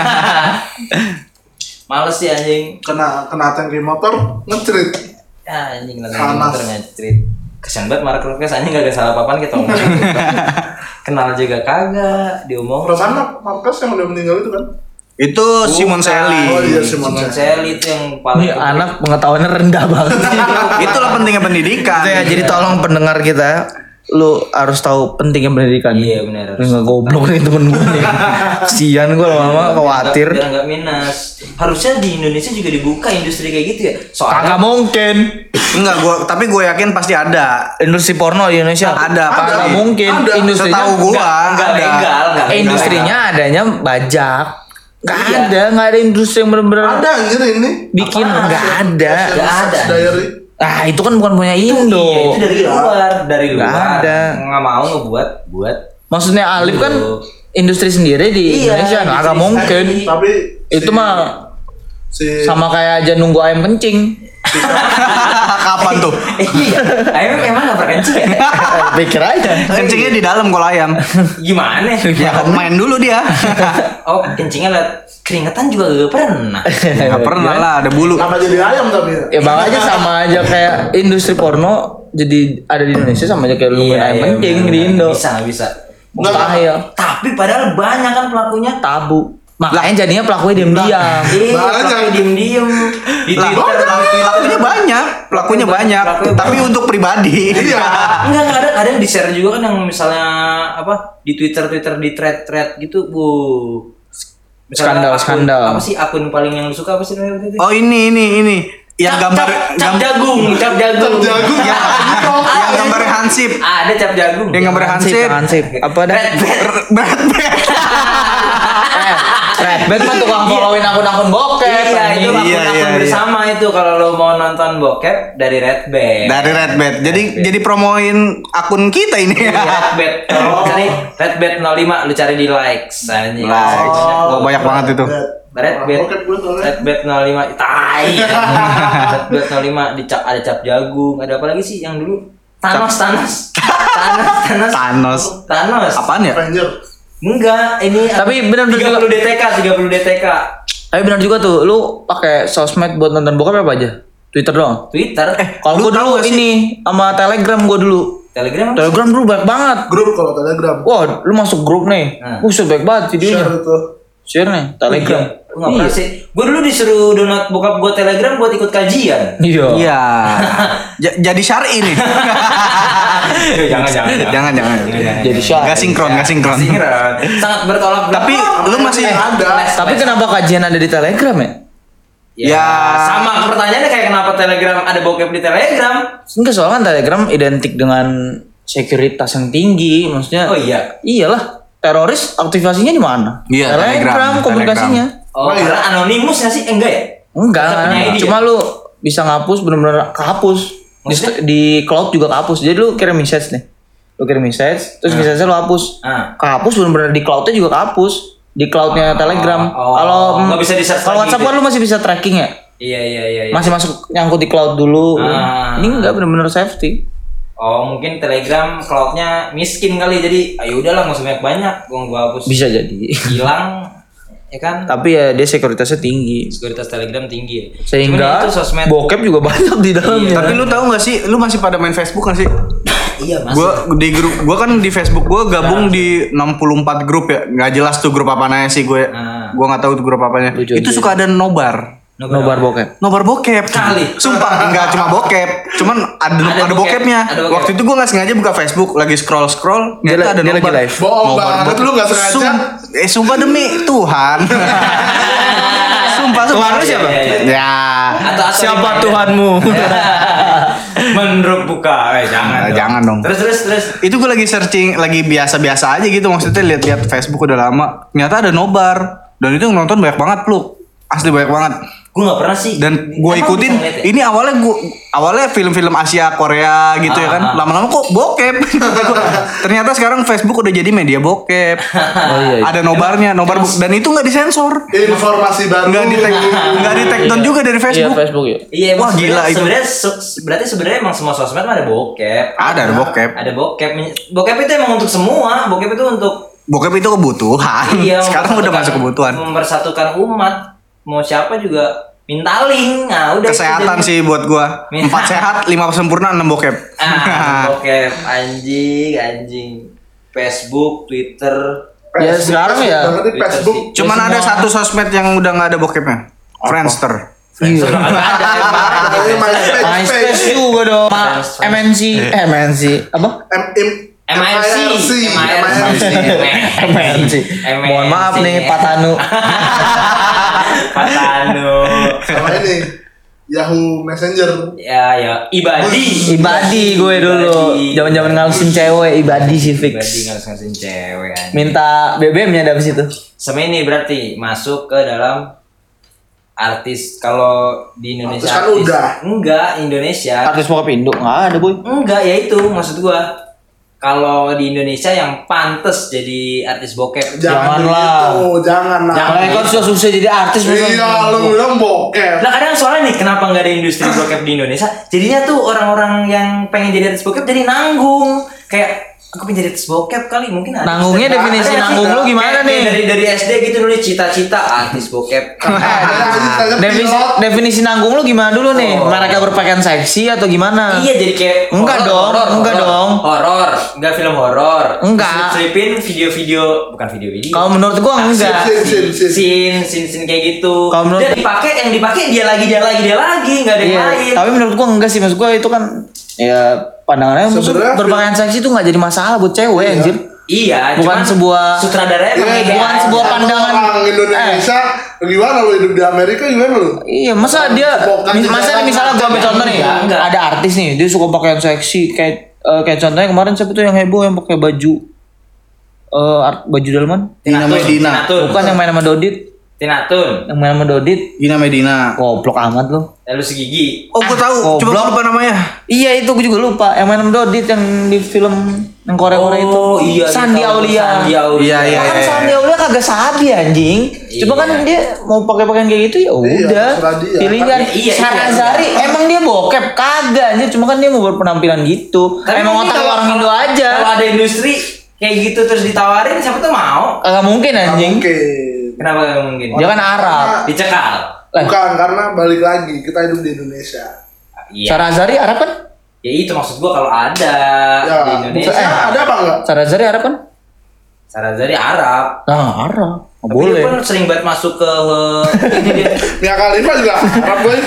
Males sih anjing. Kena tangki motor ngecerit. Ya anjing lagi Panas. motor ngecerit. Kesian banget Marc Marquez anjing gak ada salah apa-apaan kita ngomong. Kenal juga kagak, diomong. Perasaan Marquez yang udah meninggal itu kan? Itu Simon Selly. Oh iya, Simon Selly itu yang paling Ini anak pengetahuannya rendah banget. Itulah pentingnya pendidikan. Gitu ya, jadi tolong pendengar kita, lu harus tahu pentingnya pendidikan. Iya benar. Lu nggak goblok nih temen gue nih. Kasian gue lama-lama khawatir. Biar nggak minus. Harusnya di Indonesia juga dibuka industri kayak gitu ya. Kagak Soalnya mungkin. Enggak, tapi gue yakin pasti ada. Industri porno di Indonesia Ada, Kagak pasti. mungkin. Ada. Industrinya Setahu gua nggak ada. legal, nggak legal. industrinya adanya bajak. Nggak Iya. ada industri yang bener-bener Ada anjir ini. bikin Apaan? nggak ada. Nggak ada. Diary. Ah itu kan bukan punya Indo. Iya, itu dari luar. Nggak ada. Nggak mau ngebuat. Maksudnya Alif kan Tuh. industri sendiri di Iya, Indonesia nggak industri mungkin. sendiri. Tapi Itu mah sama kayak aja nunggu ayam kencing. Kapan tuh? Iya. Ayam emang nggak berkencing ya? Pikir aja. Kencingnya di dalam kalau ayam. Gimana? Ya main dulu dia. Oh kencingnya liat keringetan juga gak pernah. Nggak pernah lah, ada bulu. Nama jadi ayam tapi ya. Ya bang aja sama aja kayak industri porno jadi ada di Indonesia sama aja kayak lu nungguin ayam kencing bener, di bener. Indo. Bisa nggak bisa. Mustahil. Tapi padahal banyak kan pelakunya. Tabu. Makanya jadinya pelakunya diam-diam. Iya, Banyak. pelaku diem-diem di Twitter. Pelakunya banyak, Pelakunya tapi banyak. untuk pribadi. Iya. Enggak ada yang di-share juga kan yang misalnya apa di Twitter di thread gitu, Bu. Misalnya Skandal. Apa sih akun paling yang lu suka apa sih namanya waktu itu? Oh ini yang gambar cap jagung. Cap jagung. yang gambarnya Hansip. Ada cap jagung. Yang gambar Hansip. Apa dah? Red Bat. Red Bat mah tukang followin akun-akun bokep. Iya, itu Iya, akun iya, bersama itu kalau lo mau nonton bokep dari Red Bat. Dari Red Bat. Jadi promoin akun kita ini Red ya. Bat. Cari Red Bat 05 lu cari di likes anjing. Likes. Oh, banyak banget itu. Red Bat. Bokep gue soalnya. Red Bat 05 tai. Red Bat 05 dicap ada cap jagung, ada apa lagi sih yang dulu? Thanos. Apaan ya? Ranger. Enggak, ini Tapi benar 30 DTK. Tapi benar juga tuh, lu pakai sosmed buat nonton bokep apa aja? Twitter doang. Twitter. Kalau lu gua tahu dulu gak sih? ini sama Telegram gua dulu. Telegram apa? Telegram dulu banyak banget. Grup kalau Telegram. Wah, lu masuk grup nih. Nah. Buset baik banget videonya. Share itu. Share nih Telegram. Gue nggak pernah sih. Gue dulu disuruh download bokap gue Telegram buat ikut kajian. Iya. Iya. Jadi syar'i nih. Jangan. Jadi syar. Gak sinkron. Sangat bertolak belakang. Tapi lu masih Tapi kenapa kajian ada di Telegram ya? Ya, sama pertanyaannya kayak kenapa Telegram ada bokep di Telegram? Enggak, soalnya kan Telegram identik dengan sekuritas yang tinggi, maksudnya. Oh iya. Iyalah, teroris aktivasinya di mana? Iya, Telegram. komunikasinya. Oh, karena anonimus nggak sih? Enggak ya? Enggak, Tetap punya ID cuma lu bisa ngapus bener-bener kehapus. Maksudnya? Di cloud juga kehapus. Jadi lu kirim message nih. Lu kirim message, terus message-nya lu hapus. Kehapus bener-bener di cloud-nya juga kehapus. Di cloud-nya Telegram. Kalau nggak bisa di-search kalau lagi WhatsApp gitu kan lu masih bisa tracking ya. Iya. Masih masuk nyangkut di cloud dulu. Ini enggak bener-bener safety. Oh, mungkin Telegram cloud-nya miskin kali, jadi ayo udahlah nggak usah banyak, gua hapus. Bisa jadi. Hilang, ya kan? Tapi ya dia sekuritasnya tinggi. Sekuritas Telegram tinggi ya. Sehingga Cuman itu sosmed. bokep juga banyak di dalamnya. Tapi lu tahu gak sih, lu masih pada main Facebook gak sih? Iya, masih. Gua kan di Facebook gua gabung di 64 grup ya. Nggak jelas tuh grup apanya sih gue. Gua nggak tahu tuh grup apanya. Itu suka ada nobar. Nobar bokep. Nobar bokep. Kali. Sumpah enggak cuma bokep. Cuman ada bokepnya. Ada bokep. Waktu itu gua nggak sengaja buka Facebook, lagi scroll, Dia ternyata ada lagi nobar. live. Bohong banget, lu nggak sengaja. Sumpah demi Tuhan. Sumpah. Tuhan lu siapa? Ya. Atau Siapa gimana? Tuhanmu? Menurut buka, jangan. Jangan dong. Terus. Itu gue lagi searching, lagi biasa-biasa aja gitu, maksudnya lihat-lihat Facebook udah lama. Ternyata ada nobar dan itu yang nonton banyak banget, Pluk. Asli banyak banget. Gue nggak pernah sih. Dan gue Emang ikutin. bisa ngeliat ya? Ini awalnya film-film Asia, Korea gitu ya kan. Lama-lama kok bokep. Ternyata sekarang Facebook udah jadi media bokep. iya. Ada nobarnya, dan itu nggak disensor. Informasi baru. Nggak di take down juga dari Iya, Facebook. Facebook ya. Iya, emang Wah, gila itu. Berarti sebenarnya emang semua sosmed mah ada bokep. Ada bokep. Ada bokep. Bokep itu emang untuk semua. Bokep itu untuk Bokep itu kebutuhan. iya, Sekarang udah masuk kebutuhan. Mempersatukan umat. Mau siapa juga minta link. Nah, udah Kesehatan itu sih buat gua. 4 sehat, 5 sempurna, 6 bokep. bokep anjing. Facebook, Twitter. Ya, sekarang ya. Banget di Facebook. Cuman ada satu sosmed yang udah nggak ada bokepnya. Friendster. Iya. MySpace. MySpace juga dong. MNC apa? MIRC. Mohon maaf nih Pak Tanu. Pak Tanu. Sama ini Yahoo Messenger. Ya, Ibadi Gue dulu. Zaman-zaman ngalusin cewek Ibadi sih fix. Ibadi ngalusin cewek anjing. Minta BBM-nya dari situ. Sama ini berarti masuk ke dalam artis. Kalau di Indonesia Artis kan udah. Enggak, Indonesia. Artis bokep Indo nggak ada boy. Enggak, ya itu maksud gua. Kalau di Indonesia yang pantes jadi artis bokep. Janganlah. Jangan lah. Jangan. Mereka susah-susah jadi artis. Iya, lu bilang bokep. Nah kadang soalnya nih kenapa nggak ada industri bokep di Indonesia? Jadinya tuh orang-orang yang pengen jadi artis bokep jadi nanggung. Kayak aku pengen jadi artis bokep kali mungkin ada. Nanggungnya definisi Ada nanggung lu gimana nih? Dari SD gitu dulu cita-cita artis bokep. Definisi nanggung lu gimana dulu nih? Mereka berpakaian seksi atau gimana? Iya jadi kayak Enggak dong, enggak dong. Horor, enggak film horor. Enggak. Selipin video-video, bukan video-video. Kalau menurut gua enggak. Scene kayak gitu. Kalau menurut- Dia dipakai dia lagi enggak ada yang Iya, lain. tapi menurut gua enggak sih, maksud gua itu kan ya pandangannya maksud Sebenarnya berpakaian seksi itu enggak jadi masalah buat cewek anjir. Iya, Bukan cuman sebuah- sutradaranya emang Iya, kayak bukan aja. sebuah pandangan. Orang Indonesia gimana lu hidup di Amerika gimana lu? Iya, masa dia misalnya gua ambil contoh nih, Enggak. ada artis nih, dia suka pakaian seksi kayak contohnya kemarin siapa tuh yang heboh yang pakai baju baju dalaman? Dina Medina. Bukan yang main sama Dodit. Tinatun. Yang main sama Dodit. Gina Medina. Goblok amat lu. Lalu segigi. Oh, gue tahu. Coba goblok. gua lupa namanya. Iya itu gue juga lupa. Yang main sama Dodit yang di film yang Korea itu. Oh iya. Sandi Aulia. Iya, iya. Kan Sandi Aulia kagak sabi anjing. Cuma kan dia mau pakai pakaian kayak gitu ya udah. terserah dia. Pilihan. Iya, Sarazari emang dia bokep kagak anjir. Cuma kan dia mau berpenampilan gitu. Tapi Emang ini otak kalau- orang Indo aja. Kalau ada industri kayak gitu terus ditawarin siapa tuh mau? Kagak mungkin anjing. Oke. Kenapa gak mungkin? Dia kan Arab. Dicekal. Bukan karena balik lagi kita hidup di Indonesia. Iya. Sarazari Arab kan? Ya itu maksud gua kalau ada Ya, di Indonesia. ada apa enggak? Sarazari Arab kan? Sarazari Arab. Nah, Arab. Nggak Tapi boleh. dia pun sering banget masuk ke ini dia. Mia Khalifa juga Arab boy.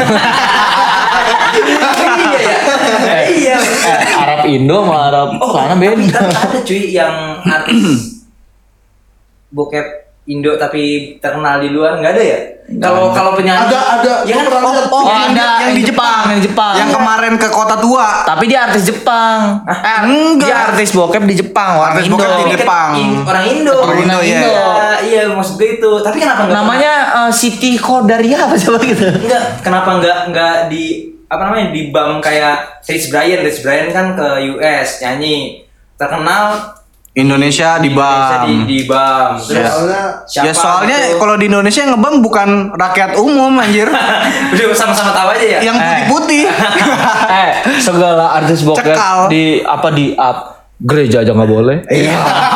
Iya ya. Iya. Arab Indo sama Arab sana Tapi beda. ada cuy yang artis bokep Indo tapi terkenal di luar nggak ada ya? Kalau penyanyi Ada. ya kan Gua pernah lihat. Oh, ada yang di Jepang. yang di Jepang. Yang kemarin ke Kota Tua. Tapi dia artis Jepang. Enggak. Dia artis bokep di Jepang, orang Artis Indo. bokep di Tapi kan Jepang. orang Indo. Orang Indo, ya. Iya, maksud gue itu. Tapi kenapa enggak? Namanya Siti Khodaria apa coba gitu. Enggak, kenapa enggak di apa namanya di BAM kayak Rich Brian kan ke US nyanyi terkenal Indonesia di Indonesia BAM. di BAM. Terus Soalnya Ya soalnya gitu? kalau di Indonesia yang ngebam bukan rakyat umum anjir. udah sama-sama tahu aja ya. Yang putih-putih. Segala artis bokep Cekal. di up gereja aja nggak boleh. Iya.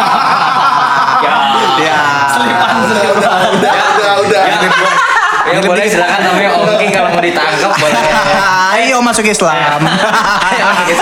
Ya. udah. Ya boleh silakan namanya Oki kalau mau ditangkap boleh. Ayo masuk Islam. Ayo, gitu.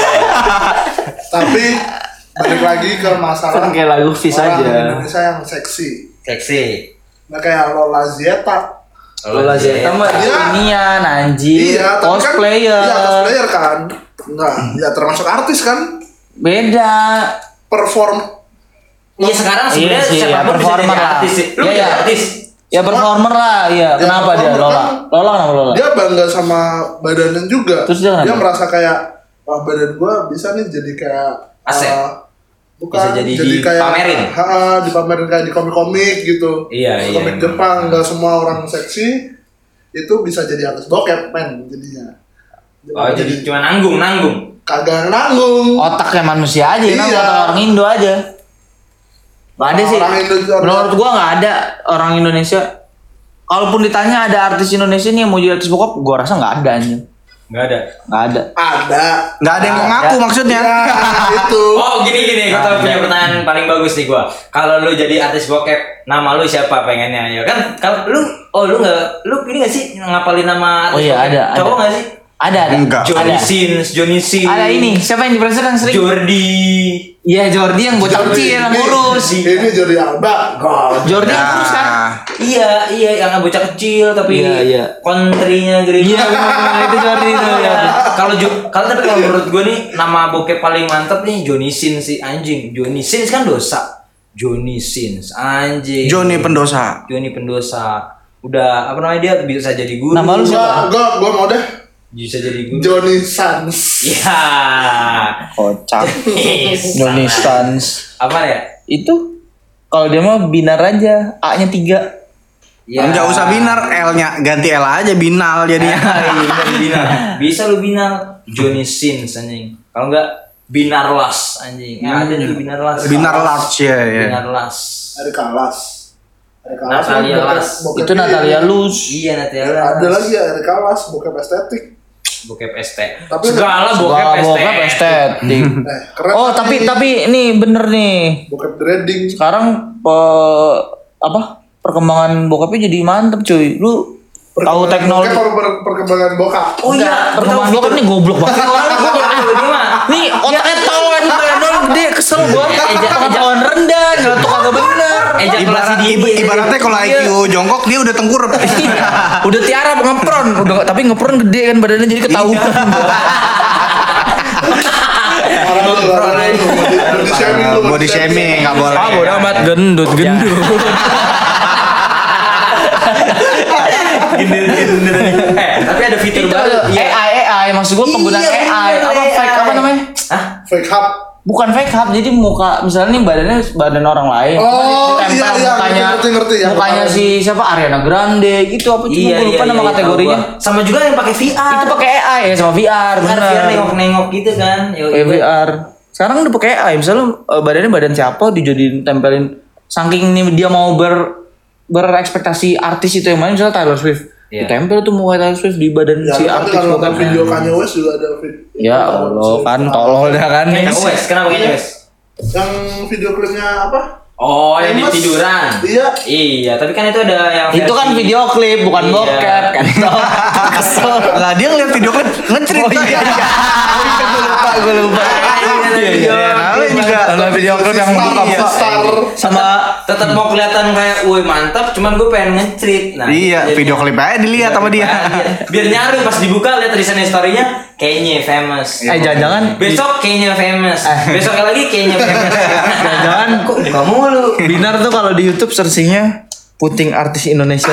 Tapi balik lagi ke masalah Kan kayak lagu Fis orang aja. Indonesia yang seksi. Seksi. Nah kayak Lola Zeta. Lola Zeta mah Iya. inian anjir, Iya, tapi cosplayer. Kan, iya, cosplayer kan. Enggak, ya termasuk artis kan. Beda. Perform. Iya sekarang sebenarnya Iya sih, siapa ya, pun bisa performer jadi lah. artis sih. Lu Iya, jadi iya. artis. Ya performer lah, iya. Ya, Kenapa dia performer Lola? kan. Lola kenapa Lola? Dia bangga sama badannya juga. Terus dia kenapa? merasa kayak wah badan gua bisa nih jadi kayak Aset. bukan Bisa jadi dipamerin. Dipamerin kayak di komik-komik gitu. Iya, Komik iya. Jepang nggak semua orang seksi itu bisa jadi artis bokep men jadinya. Oh jadi cuma nanggung. Kagak nanggung. Otaknya manusia aja, Iya. otak orang Indo aja. Nggak ada sih. Orang Indonesia. Menurut gua nggak ada orang Indonesia. Kalaupun ditanya ada artis Indonesia nih yang mau jadi artis bokep, gua rasa nggak ada anjing. Nggak ada. Nggak ada. Ada. Nggak ada yang mau ngaku maksudnya. Ya, itu. Oh gini, gue tau punya pertanyaan paling bagus nih gua. Kalau lu jadi artis bokep, nama lu siapa pengennya? Ya kan, kalau lu ini nggak sih ngapalin nama artis Oh iya, bokep? ada. Cowok nggak sih? Ada. Enggak. Johnny Ada. Sins. Ada ini, siapa yang di presiden sering? Jordi. Iya, Jordi yang bocah kecil yang kurus. Ini Jordi Alba. God. Jordi yang kurus kan? Iya, yang bocah kecil tapi Iya. country-nya gede. Iya, bener, itu Jordi itu. Iya. Tapi kalau menurut gue nih nama bokep paling mantep nih Johnny Sins sih anjing. Johnny Sins kan dosa. Johnny Sins anjing. Johnny pendosa. Johnny pendosa. Udah apa namanya dia bisa jadi guru. Nama lu siapa? Gua mau deh. Bisa jadi guru. Johnny Sans. Iya. Kocak. Johnny Stans. Apa ya? Itu kalau dia mah binar aja, A-nya 3. Ya. Enggak usah binar, L-nya ganti L aja binal jadinya. Bisa lu binar Johnny Sins anjing. Kalau enggak binar las anjing. Ya ada tuh binar las. Binar large ya. Binar las. Erika Las. Natalia Las. Itu Natalia Luz. Iya Natalia Las. Ada lagi ya Erika Las, bokep estetik. Bokep ST. Tapi Segala Wah, bokep bokep ST. estetik. Keren. Oh, tapi ini bener nih. bokep dreading. Sekarang perkembangan bokapnya jadi mantep cuy. Lu tahu teknologi? Bokep perkembangan bokap. Oh iya, perkembangan bokap nih goblok banget. Nih otaknya tolong gede kesel gua. Pengetahuan rendah, nyeletuk kagak bener. Ejakulasi dini. Ibaratnya kalau IQ jongkok dia udah tengkurap. Udah tiarap ngepron, tapi ngepron gede kan badannya jadi ketahuan. Body shaming lu. Body shaming enggak boleh. Ah, bodo amat gendut. Gendut. Tapi ada fitur Itu baru. AI maksud gua penggunaan Iya, AI bener, apa fake apa namanya? Hah? Fake hub. Bukan fake hub, jadi muka misalnya nih badannya badan orang lain. Oh, Ditempel iya, mukanya, ngerti, ya, mukanya paham. si siapa Ariana Grande gitu apa cuma gua lupa nama kategorinya. tahu gua. Sama juga yang pakai VR. Itu pakai AI ya sama VR, VR bener. nengok-nengok gitu kan. VR. Sekarang udah pakai AI, misalnya badannya badan siapa dijadiin tempelin saking ini dia mau berekspektasi artis itu yang main misalnya Taylor Swift. Iya. Ditempel tuh muka Taylor Swift di badan Ya, si tapi artis kalau bukan. video Kanye West juga ada video. Ya Allah, kan tolol dah kan. Kanye West, kenapa Kanye West? Yang video klipnya apa? Oh, yang di Famous. tiduran. Iya. Iya, tapi kan itu ada yang Itu kan versi- video klip bukan Iya. bokep kan. Kesel. Lah dia ngeliat video klip ngecerit. Oh iya. Gue lupa. Namanya juga video klip yang buka-buka star. sama tetap mau kelihatan kayak woi mantap, cuman gue pengen nge-treat. Nah, iya, video klip aja dilihat sama dia. Biar nyaru pas dibuka lihat recent story-nya kayaknya famous. Jangan-jangan Besok kayaknya famous. Besoknya lagi kayaknya famous. jangan Kok buka mulu? Binar tuh kalau di YouTube searchingnya puting artis Indonesia.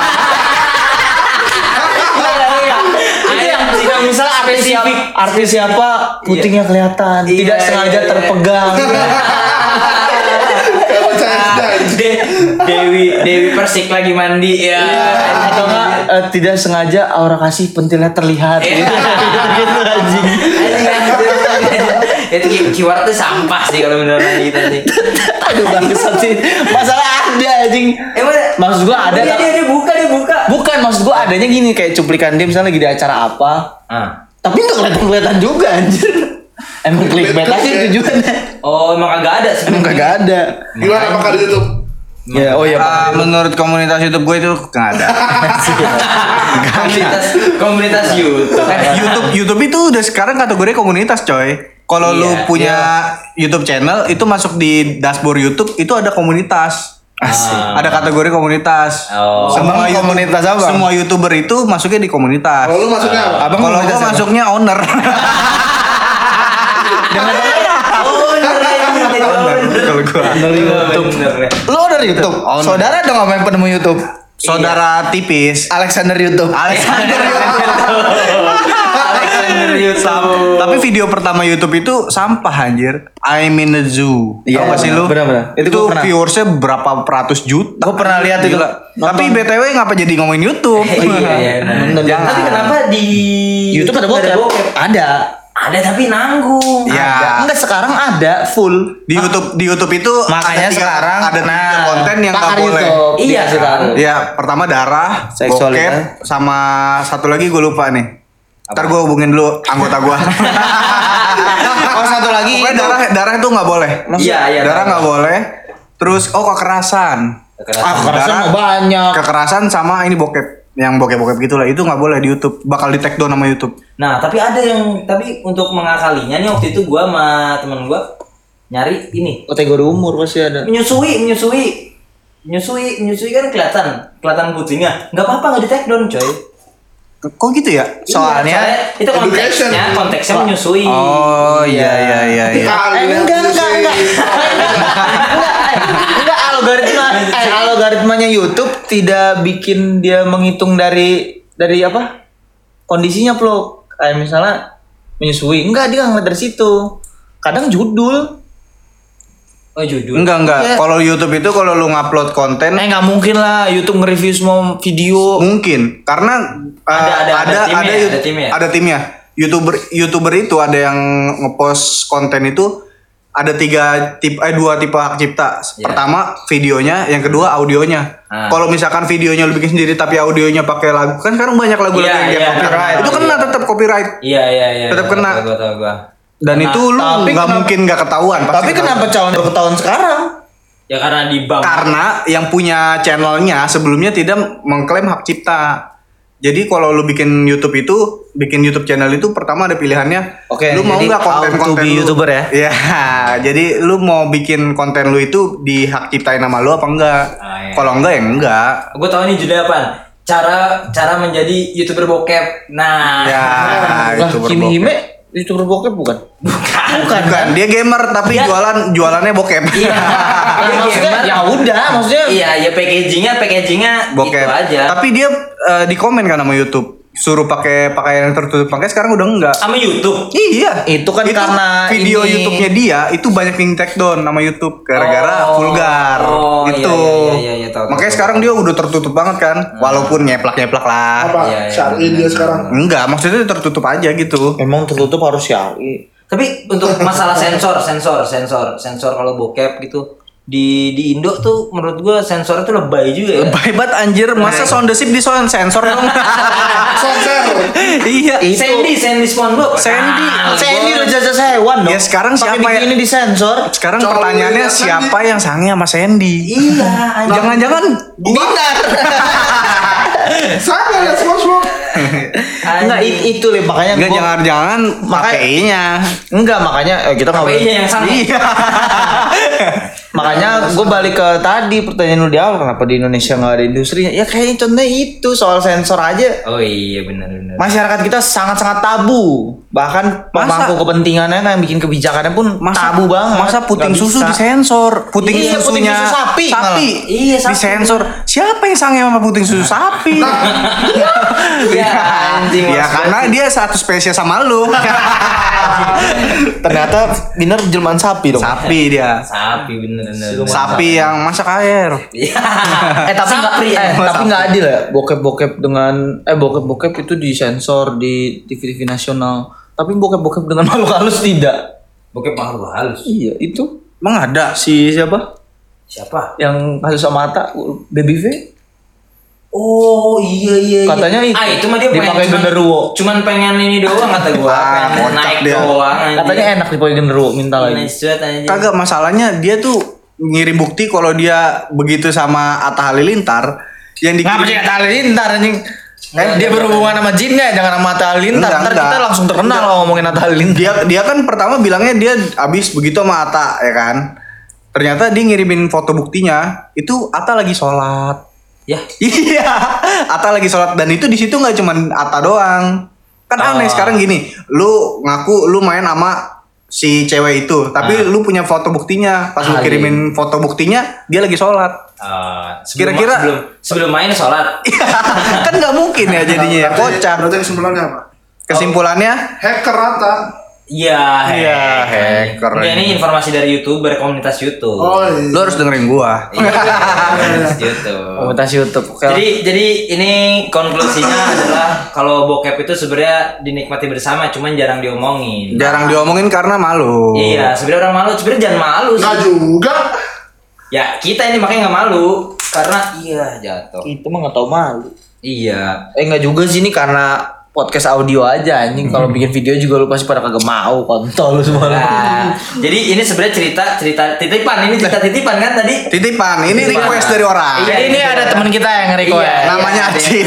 Misalnya artis siapa putingnya kelihatan, tidak sengaja terpegang. Dewi Persik lagi mandi ya. Atau enggak tidak sengaja aura kasih pentilnya terlihat. Gitu anjing. Itu keyword tuh sampah sih kalau menurut kita sih. Aduh bangsat sih. Masalah ada anjing. Maksud gua ada. Dia buka. Bukan, maksud gua adanya gini kayak cuplikan dia misalnya lagi di acara apa. Tapi enggak kelihatan juga anjir. Emang clickbait aja tujuannya. Oh, emang kagak ada sebenarnya. Emang kagak ada. Gimana apakah di YouTube? Ya, oh ya. Menurut komunitas YouTube gue itu nggak ada. Komunitas YouTube itu udah sekarang kategori komunitas, coy. Kalau lu punya YouTube channel itu masuk di dashboard YouTube itu ada komunitas. Ada kategori komunitas. Semua komunitas apa? Semua YouTuber itu masuknya di komunitas. Kalau lu masuknya apa? Kalau gua masuknya owner. Kalau gua Lu dari YouTube. Saudara dong sama yang penemu YouTube. Saudara tipis. Alexander YouTube. Alexander YouTube. Tapi video pertama YouTube itu sampah anjir. I'm in the zoo. Iya, Tahu gak sih lu? benar-benar. Itu Itu gua pernah. viewersnya berapa ratus juta. Gua pernah lihat itu. Gila. Tapi BTW ngapa jadi ngomongin YouTube? Iya. Jangan. Tapi kenapa di YouTube ada bokep? Ada. Ada tapi nanggung. Ya. Enggak, sekarang ada full. Di YouTube itu Makanya sekarang ada tiga konten yang nggak pakar boleh. YouTube. Iya, sekarang. Ya, pertama darah, Seksualitas. bokep, sama satu lagi gue lupa nih. Ntar gue hubungin dulu anggota gue. Oh, satu lagi. Pokoknya darah itu nggak boleh. Iya. Darah nggak boleh. Terus kekerasan. Kekerasan banyak. Kekerasan sama ini bokep. Yang bokep-bokep gitulah itu nggak boleh di YouTube. Bakal di take down sama YouTube. Nah, tapi ada yang untuk mengakalinya nih waktu itu gua sama temen gua nyari ini. Kategori umur pasti ada. Menyusui kan kelihatan putihnya. Enggak apa-apa, enggak di take down, coy. Kok gitu ya? Soalnya itu konteksnya menyusui. Oh iya. Enggak, algoritmanya YouTube tidak bikin dia menghitung dari apa? Kondisinya, Bro. Kayak misalnya menyusui. Enggak, dia ngeliat dari situ. Kadang judul. Oh, judul. Enggak. Iya. Kalau YouTube itu kalau lu ngupload konten Nggak mungkin lah YouTube nge-review semua video. mungkin karena ada timnya. YouTuber itu ada yang ngepost konten itu ada dua tipe hak cipta. Pertama videonya, yang kedua audionya. Kalau misalkan videonya lu bikin sendiri tapi audionya pakai lagu, kan sekarang banyak lagu-lagu yang dia copyright. Itu kena tetap copyright. Iya. Tetap kena. Gua. Dan itu lu nggak mungkin nggak ketahuan. Tapi kenapa calon ketahuan sekarang? Ya karena di bank. Karena yang punya channelnya sebelumnya tidak mengklaim hak cipta. Jadi kalau lu bikin YouTube channel itu pertama ada pilihannya. Oke, lu mau jadi nggak konten-konten how to be lu? YouTuber ya? Iya. Jadi lu mau bikin konten lu itu di hak ciptain nama lu apa enggak? Iya. Kalau enggak ya enggak. Gue tahu ini judulnya apa? Cara menjadi YouTuber bokep. Nah. Ya, Lah, YouTuber Kimi bokep. Hime YouTuber bokep bukan? Bukan, dia gamer tapi jualannya bokep. Iya. Dia Maksudnya gamer. ya udah, maksudnya Iya, packagingnya Bokep. itu aja. Tapi dia di komen kan sama YouTube. Suruh pakai pakaian yang tertutup, makanya sekarang udah enggak. Sama YouTube. Iya, itu kan karena video ini- YouTube-nya dia itu banyak yang take down sama YouTube gara-gara Oh. vulgar. Oh, Itu. iya, tahu. Makanya sekarang dia udah tertutup banget kan, walaupun nyeplak-nyeplak lah. Apa? Iya, Syari dia sekarang. Enggak, maksudnya tertutup aja gitu. memang tertutup harus syari. Tapi untuk masalah sensor kalau bokep gitu di Indo tuh menurut gua sensornya tuh lebay juga ya. Lebay banget anjir, masa sound the ship di sensor dong. Sensor. Iya. Sandy SpongeBob. Sandy. Saya ini udah jajah hewan dong. Ya, sekarang Pakai siapa ya? ini disensor. Sekarang Cowok pertanyaannya lihat siapa yang sange sama Sandy? Iya, anjing. Jangan-jangan Dinar. Saya nggak lihat SpongeBob. Enggak itu Lip, makanya Enggak, jangan-jangan KPI-nya. Enggak, makanya kita nggak boleh. KPI-nya yang sange. Iya. Makanya gue balik ke tadi pertanyaan lu di awal, kenapa di Indonesia nggak ada industrinya? Ya kayaknya contohnya itu soal sensor aja. Oh iya benar. Masyarakat kita sangat-sangat tabu. Bahkan pemangku kepentingannya yang bikin kebijakannya pun tabu banget. Masa puting Nggak susu bisa. disensor? Puting Iya, puting susunya susu sapi malah. Iya, sapi. disensor. Siapa yang sange sama puting susu sapi? Iya anjing. Ya maksud karena gua. dia satu spesies sama lu. Ternyata bener jelmaan sapi dong. Sapi dia. Sapi bener. Sapi yang masak air. Iya. Tapi Sapri, nggak adil ya bokep dengan bokep itu disensor di TV nasional. Tapi bokep dengan makhluk halus tidak. Bokep makhluk halus. Iya itu Emang ada? si siapa? Siapa? Yang kasus sama mata Baby V. Oh iya. Katanya itu mah dia dipakai genderuwo. Cuman pengen ini doang kata gua. Pengen kocak naik dia. doang. anjing. Katanya enak dipakai genderuwo, minta lagi. Nice banget, anjing. Kagak, masalahnya dia tuh ngirim bukti kalau dia begitu sama Atta Halilintar yang Ngapa sih Atta Halilintar anjing? Dia berhubungan sama jin ya, jangan sama Atta Halilintar. Enggak, Ntar enggak. kita langsung terkenal kalau ngomongin Atta Halilintar. dia kan pertama bilangnya dia abis begitu sama Atta ya kan. Ternyata dia ngirimin foto buktinya itu Atta lagi sholat. Ya. Iya, Atta lagi sholat dan itu di situ nggak cuman Atta doang. Kan aneh sekarang gini, lu ngaku lu main sama si cewek itu, tapi lu punya foto buktinya. Pas lu kirimin foto buktinya, dia lagi sholat. Kira-kira- sebelum main sholat. Kan nggak mungkin ya jadinya ya, kocak. Berarti kesimpulannya apa? Kesimpulannya, Hacker Rata. Iya, hacker. Enggak, ini informasi dari YouTuber komunitas YouTube. Oh iya. lu harus dengerin gua. Iya, komunitas YouTube. Komunitas YouTube. Oke. Jadi ini konklusinya adalah kalau bokep itu sebenarnya dinikmati bersama, cuman jarang diomongin. Jarang diomongin karena malu. Iya, sebenarnya orang malu, sebenarnya jangan malu sih. Nggak juga. Ya kita ini makanya nggak malu karena jatuh. Itu mah nggak tahu malu. Iya. Enggak juga sih ini karena podcast audio aja anjing. Kalau bikin video juga lu pasti pada kagak mau, kontol lu semua. Nah, jadi ini sebenarnya cerita titipan, ini cerita titipan kan tadi? Titipan, ini request dari orang. Iya, ini ada teman kita yang nge-request. Iya, Namanya Acit.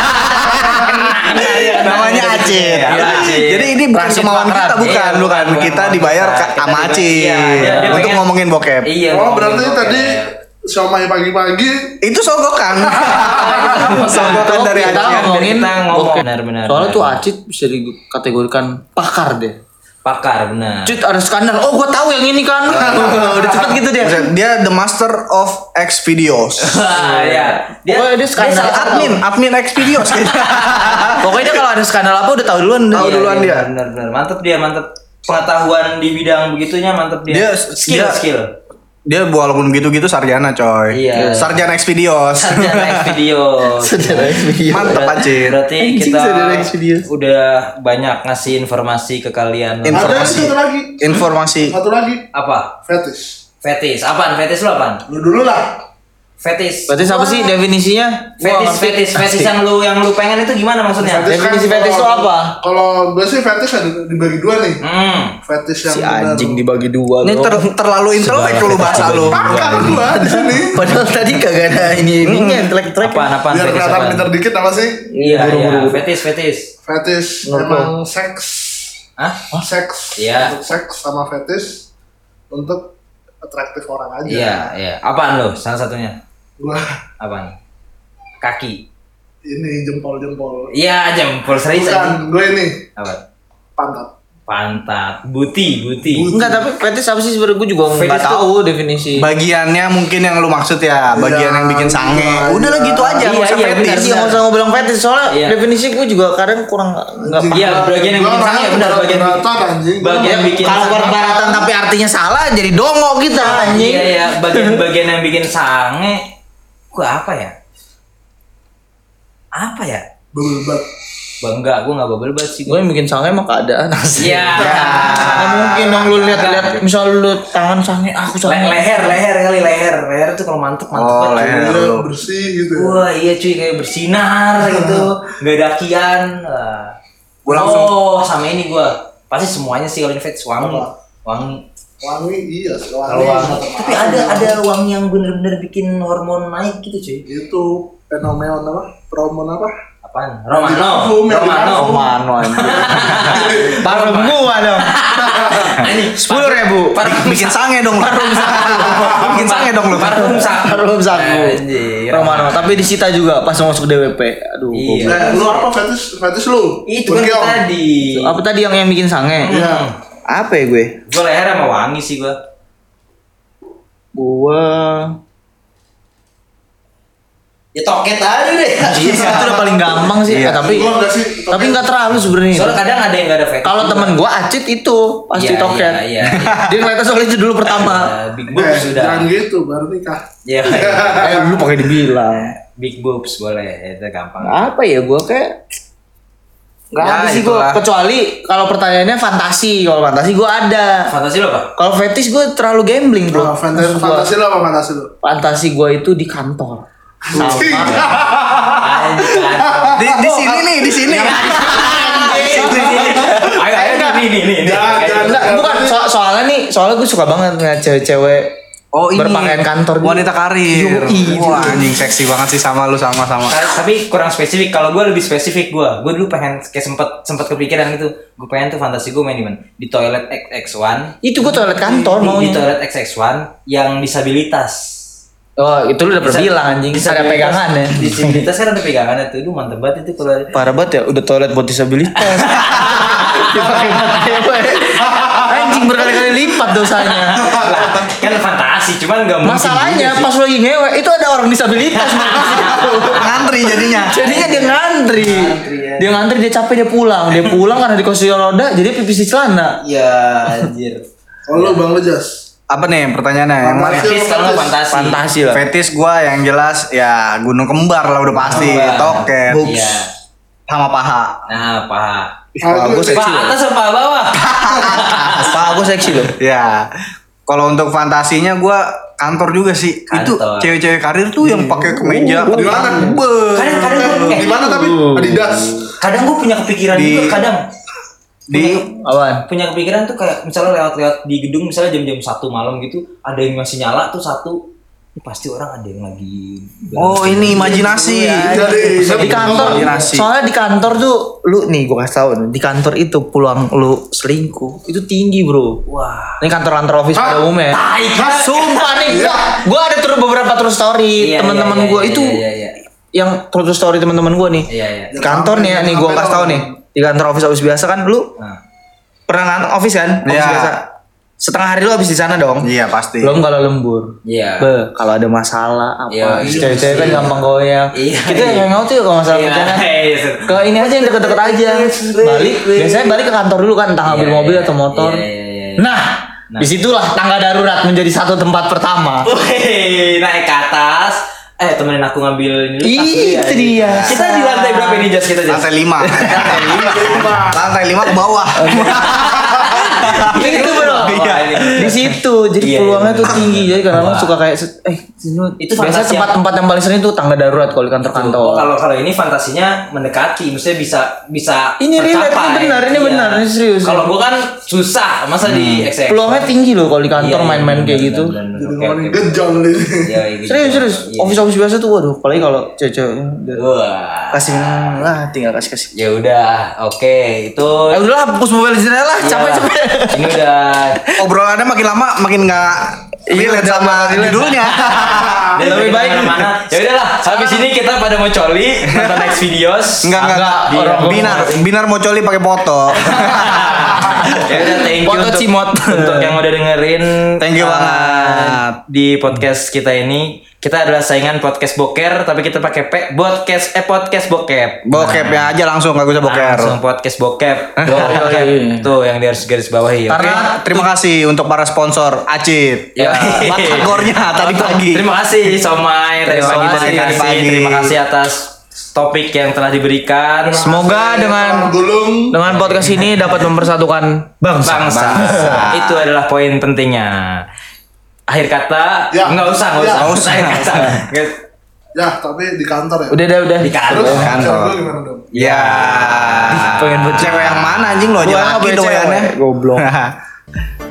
Namanya Acit. Iya, Acit. Jadi ini bukan Transit kemauan Pakran. kita, bukan, Iya, bukan. Kita dibayar Kita sama dibayar. Acit Iya, dia untuk pengen- ngomongin bokep. Iya. Oh berarti ngomong tadi bokep. siomay pagi-pagi. Itu sogokan. Sogokan dari Kita Acit. ngomongin Kita ngomong. bokep. Benar. Soalnya tuh Acit bisa dikategorikan pakar deh. Pakar benar. Cit ada skandal. Oh, gua tahu yang ini kan. Udah cepet gitu dia. Dia the master of X videos. Iya. Pokoknya dia skandal. Admin X videos kayaknya. Pokoknya dia kalau ada skandal apa udah tahu duluan. Tahu duluan dia. Benar. Mantep dia, mantep. Pengetahuan di bidang begitunya mantep dia. Skill. Dia walaupun gitu-gitu sarjana coy. Iya. Sarjana X videos. Sarjana X video. Mantap Acit. Berarti Anjing, kita sarjana X video. udah banyak ngasih informasi ke kalian. Ada Informasi. satu lagi. Informasi. Satu lagi. Apa? Fetish. Fetis. Apaan? Fetis lu apaan? Lu dulu lah. Fetis. Berarti apa sih definisinya? Fetis yang lu pengen itu gimana maksudnya? Definisi fetish itu apa? Kalau gue sih fetish ada dibagi dua nih. Fetish yang Si benar. anjing dibagi dua. Ini terlalu intelek lu bahasa lu. Pakar gua di sini. Padahal tadi kagak ada ininya track. Apaan Biar fetis kelihatan apaan? pintar dikit apa sih? Iya, fetis. Fetish Menurut emang seks. Hah? Seks. Iya. Untuk seks sama fetish untuk atraktif orang aja. Iya. Apaan lu? Salah satunya. Gua Apaan? Kaki. ini jempol-jempol. Iya, jempol serius Bukan, aja. gue ini Apa? pantat. Buti. Enggak, tapi fetish apa sih sebenarnya gue juga enggak Fetish tahu definisi. Bagiannya mungkin yang lu maksud ya, bagian yang bikin sange. Udah lah gitu aja, nggak usah Iya, fetish. benar. Iya, nggak usah ngobrol fetish soalnya Iya. definisi gue juga kadang kurang nggak paham. Iya, bagian yang bikin sange benar bagian Beratan anjing. bagian bikin Kalau sange. perbaratan tapi artinya salah jadi dongo kita anjing. Iya, bagian yang bikin sange. Gua apa ya? Bebel Enggak, gua enggak bubble bath sih. Gue yang bikin sange mah keadaan asli. Iya. Nggak mungkin dong lu lihat misal lu tangan sange aku sange. Leher tuh kalau mantep Oh, banget. leher. Iya, bersih gitu ya. Wah, iya cuy kayak bersinar gitu. Enggak ada akian. Gua langsung- sama ini gua. Pasti semuanya sih kalau ini fetish wangi. Apa? Wangi. Wangi iya sih, Kalau wangi. Tapi ada wangi yang bener-bener bikin hormon naik gitu cuy. itu fenomen apa? Hormon apa? Apa? Apaan? Romano. Romano anjing. Parfum gua dong. 10.000. Bikin sange dong. Bikin sange dong lu. Parfum Parfum saku. Anjir. Romano, tapi disita juga pas masuk DWP. Aduh. Iya. Lu apa fetish lu? Itu kan Berkeong. tadi. Apa tadi yang bikin sange? Iya. Apa ya gue? Gue leher sama wangi sih gue. Ya toket aja deh. Iya, itu udah paling gampang sih. Iya. Tapi Gua enggak sih. nggak terlalu sebenarnya. Soalnya kadang ada yang gak ada fetish. Kalau temen gua Acit itu pasti Iya, toket. iya. Dia ngeliatnya soal itu dulu pertama. Big boobs sudah. Jangan gitu, baru nikah. Iya. Lu pakai dibilang. Big boobs boleh, itu gampang. Apa ya gua kayak nggak Ya, ada sih itulah. gua, kecuali kalau pertanyaannya fantasi. Kalau fantasi gua ada. Fantasi lo apa? Kalau fetish gua terlalu gambling bro. Fantasi lu apa fantasi lu? Fantasi gua itu di kantor. Sama. Di sini nih, di sini. Ayo nih. Enggak, bukan soalnya gue suka banget ngeliat cewek-cewek Oh ini berpakaian kantor gitu. wanita karir. Wah anjing seksi banget sih sama lu sama-sama. Tapi kurang spesifik. Kalau gue lebih spesifik gue dulu pengen kayak sempet kepikiran gitu. Gue pengen tuh fantasi gue main di mana? Di toilet XX1. Itu gue toilet kantor Di maunya. toilet XX1 yang disabilitas. Oh itu lu udah pernah bilang anjing. Ada pegangan ya. Disabilitas kan ada pegangan itu. Itu mantep banget itu kalau. Parah banget ya, udah toilet buat disabilitas. Dipakai cewek. Anjing berkali-kali lipat dosanya. Lah, kan fantasi, cuman nggak mungkin. Masalahnya juga pas sih. lu lagi ngewe itu ada orang disabilitas. Ngantri jadinya. Jadinya dia ngantri. ya. Dia ngantri, dia capek, dia pulang. Dia pulang karena di kursi roda, jadi pipis di celana. Ya anjir. Oh lu Bang Lejas. Apa nih pertanyaannya? Yang mana? Fetish kalau fantasi. Fantasi lah. Fetish gua yang jelas ya gunung kembar lah udah pasti. Kembar. Toket. Iya. Sama paha. Nah, paha. Paha gue seksi Paha loh. atas apa bawah? Paha gue seksi loh. Ya. Kalau untuk fantasinya gua kantor juga sih. Itu Kantor. cewek-cewek karir tuh yang pakai kemeja. Di mana? Kadang Di mana tapi? Adidas. kadang gue punya kepikiran Di- juga kadang Di Apaan? punya kepikiran tuh kayak misalnya lewat-lewat di gedung misalnya jam-jam 1 malam gitu ada yang masih nyala tuh satu ini pasti orang ada yang lagi Oh ini imajinasi. Jadi Di kantor, Imajinasi. soalnya di kantor tuh lu nih gue kasih tau nih, di kantor itu peluang lu selingkuh itu tinggi bro. wah Ini kantor-kantor office pada umumnya. tai Sumpah nih, gue ada beberapa true story Iya, teman-teman iya, gue iya, itu iya, iya. yang true story teman-teman gue nih. Iya, iya. Di kantor nih, nih gue kasih tau nih di kantor office biasa kan lu Nah, pernah ngantor office kan? Office Iya. biasa. Setengah hari lu habis di sana dong. Iya pasti. Belum kalau lembur. iya Kalau ada masalah Iya, apa, iya, cewek-cewek kan iya. gampang goyang. Iya, Kita iya. hangout tuh kalau masalah Iya, kerjaan. iya. Ke ini aja yang deket-deket aja. Balik, biasanya balik ke kantor dulu kan, entah ngambil Iya, mobil iya, atau motor. iya, iya, iya. Nah, disitulah tangga darurat menjadi satu tempat pertama. Wih, naik ke atas temenin aku ngambil ini dulu, tas dulu Itu dia. kita di lantai berapa ini Jas kita Jas? Lantai 5. Lantai 5 ke bawah. Itu bro. Iya. Di situ, jadi Iya, peluangnya iya. tuh tinggi. Jadi kadang Wah. suka kayak Itu biasa fantasi tempat-tempat yang paling sering tuh tangga darurat kalau di Oh, kantor-kantor. kalau ini fantasinya mendekati, maksudnya bisa Ini relate, tercapai. ini benar, ini Iya. benar, ini serius. Kalau gua kan susah, masa di XX. Peluangnya tinggi loh kalau di kantor Iya, main-main benar, kayak benar, gitu. benar, benar. Jadi Oke, ngomongin oke. gejol nih. Iya, gitu. Serius. Iya. Office biasa tuh waduh, apalagi kalau cewek-cewek udah Wah. kasih tinggal kasih. Ya udah, oke, itu Udahlah, hapus mobile di sini lah, Iya. capek-capek. Ini udah Obrolannya makin lama makin nggak relate udah sama nggak relate. judulnya. dan Lebih baik. mana? Ya udahlah, habis ini kita pada mau coli nonton next videos. Enggak. Binar mau coli pakai foto. Ya udah, thank you Foto untuk, cimot. untuk yang udah dengerin. Thank you banget. Di podcast kita ini. Kita adalah saingan podcast boker, tapi kita pakai podcast bokep. Bokepnya aja langsung nggak usah boker. Langsung podcast bokep. Bokep. Tuh yang di harus garis bawahi. Oke? Karena Terima kasih untuk para sponsor Acit. Ya. Batagornya tadi pagi. Terima kasih Somai tadi Terima pagi kasih. terima kasih. Terima kasih atas topik yang telah diberikan. semoga dengan Gulung. podcast ini dapat mempersatukan bangsa. Bangsa. Itu adalah poin pentingnya. Akhir kata, Ya. nggak usah. Ya. Akhir kata. Ya, tapi di kantor ya. Udah. Di kantor. Terus kantor. cewek lu gimana dong? Ya. Pengen buat Cewek yang mana anjing lo aja Gua nggak laki boleh doyannya. cewek, goblok.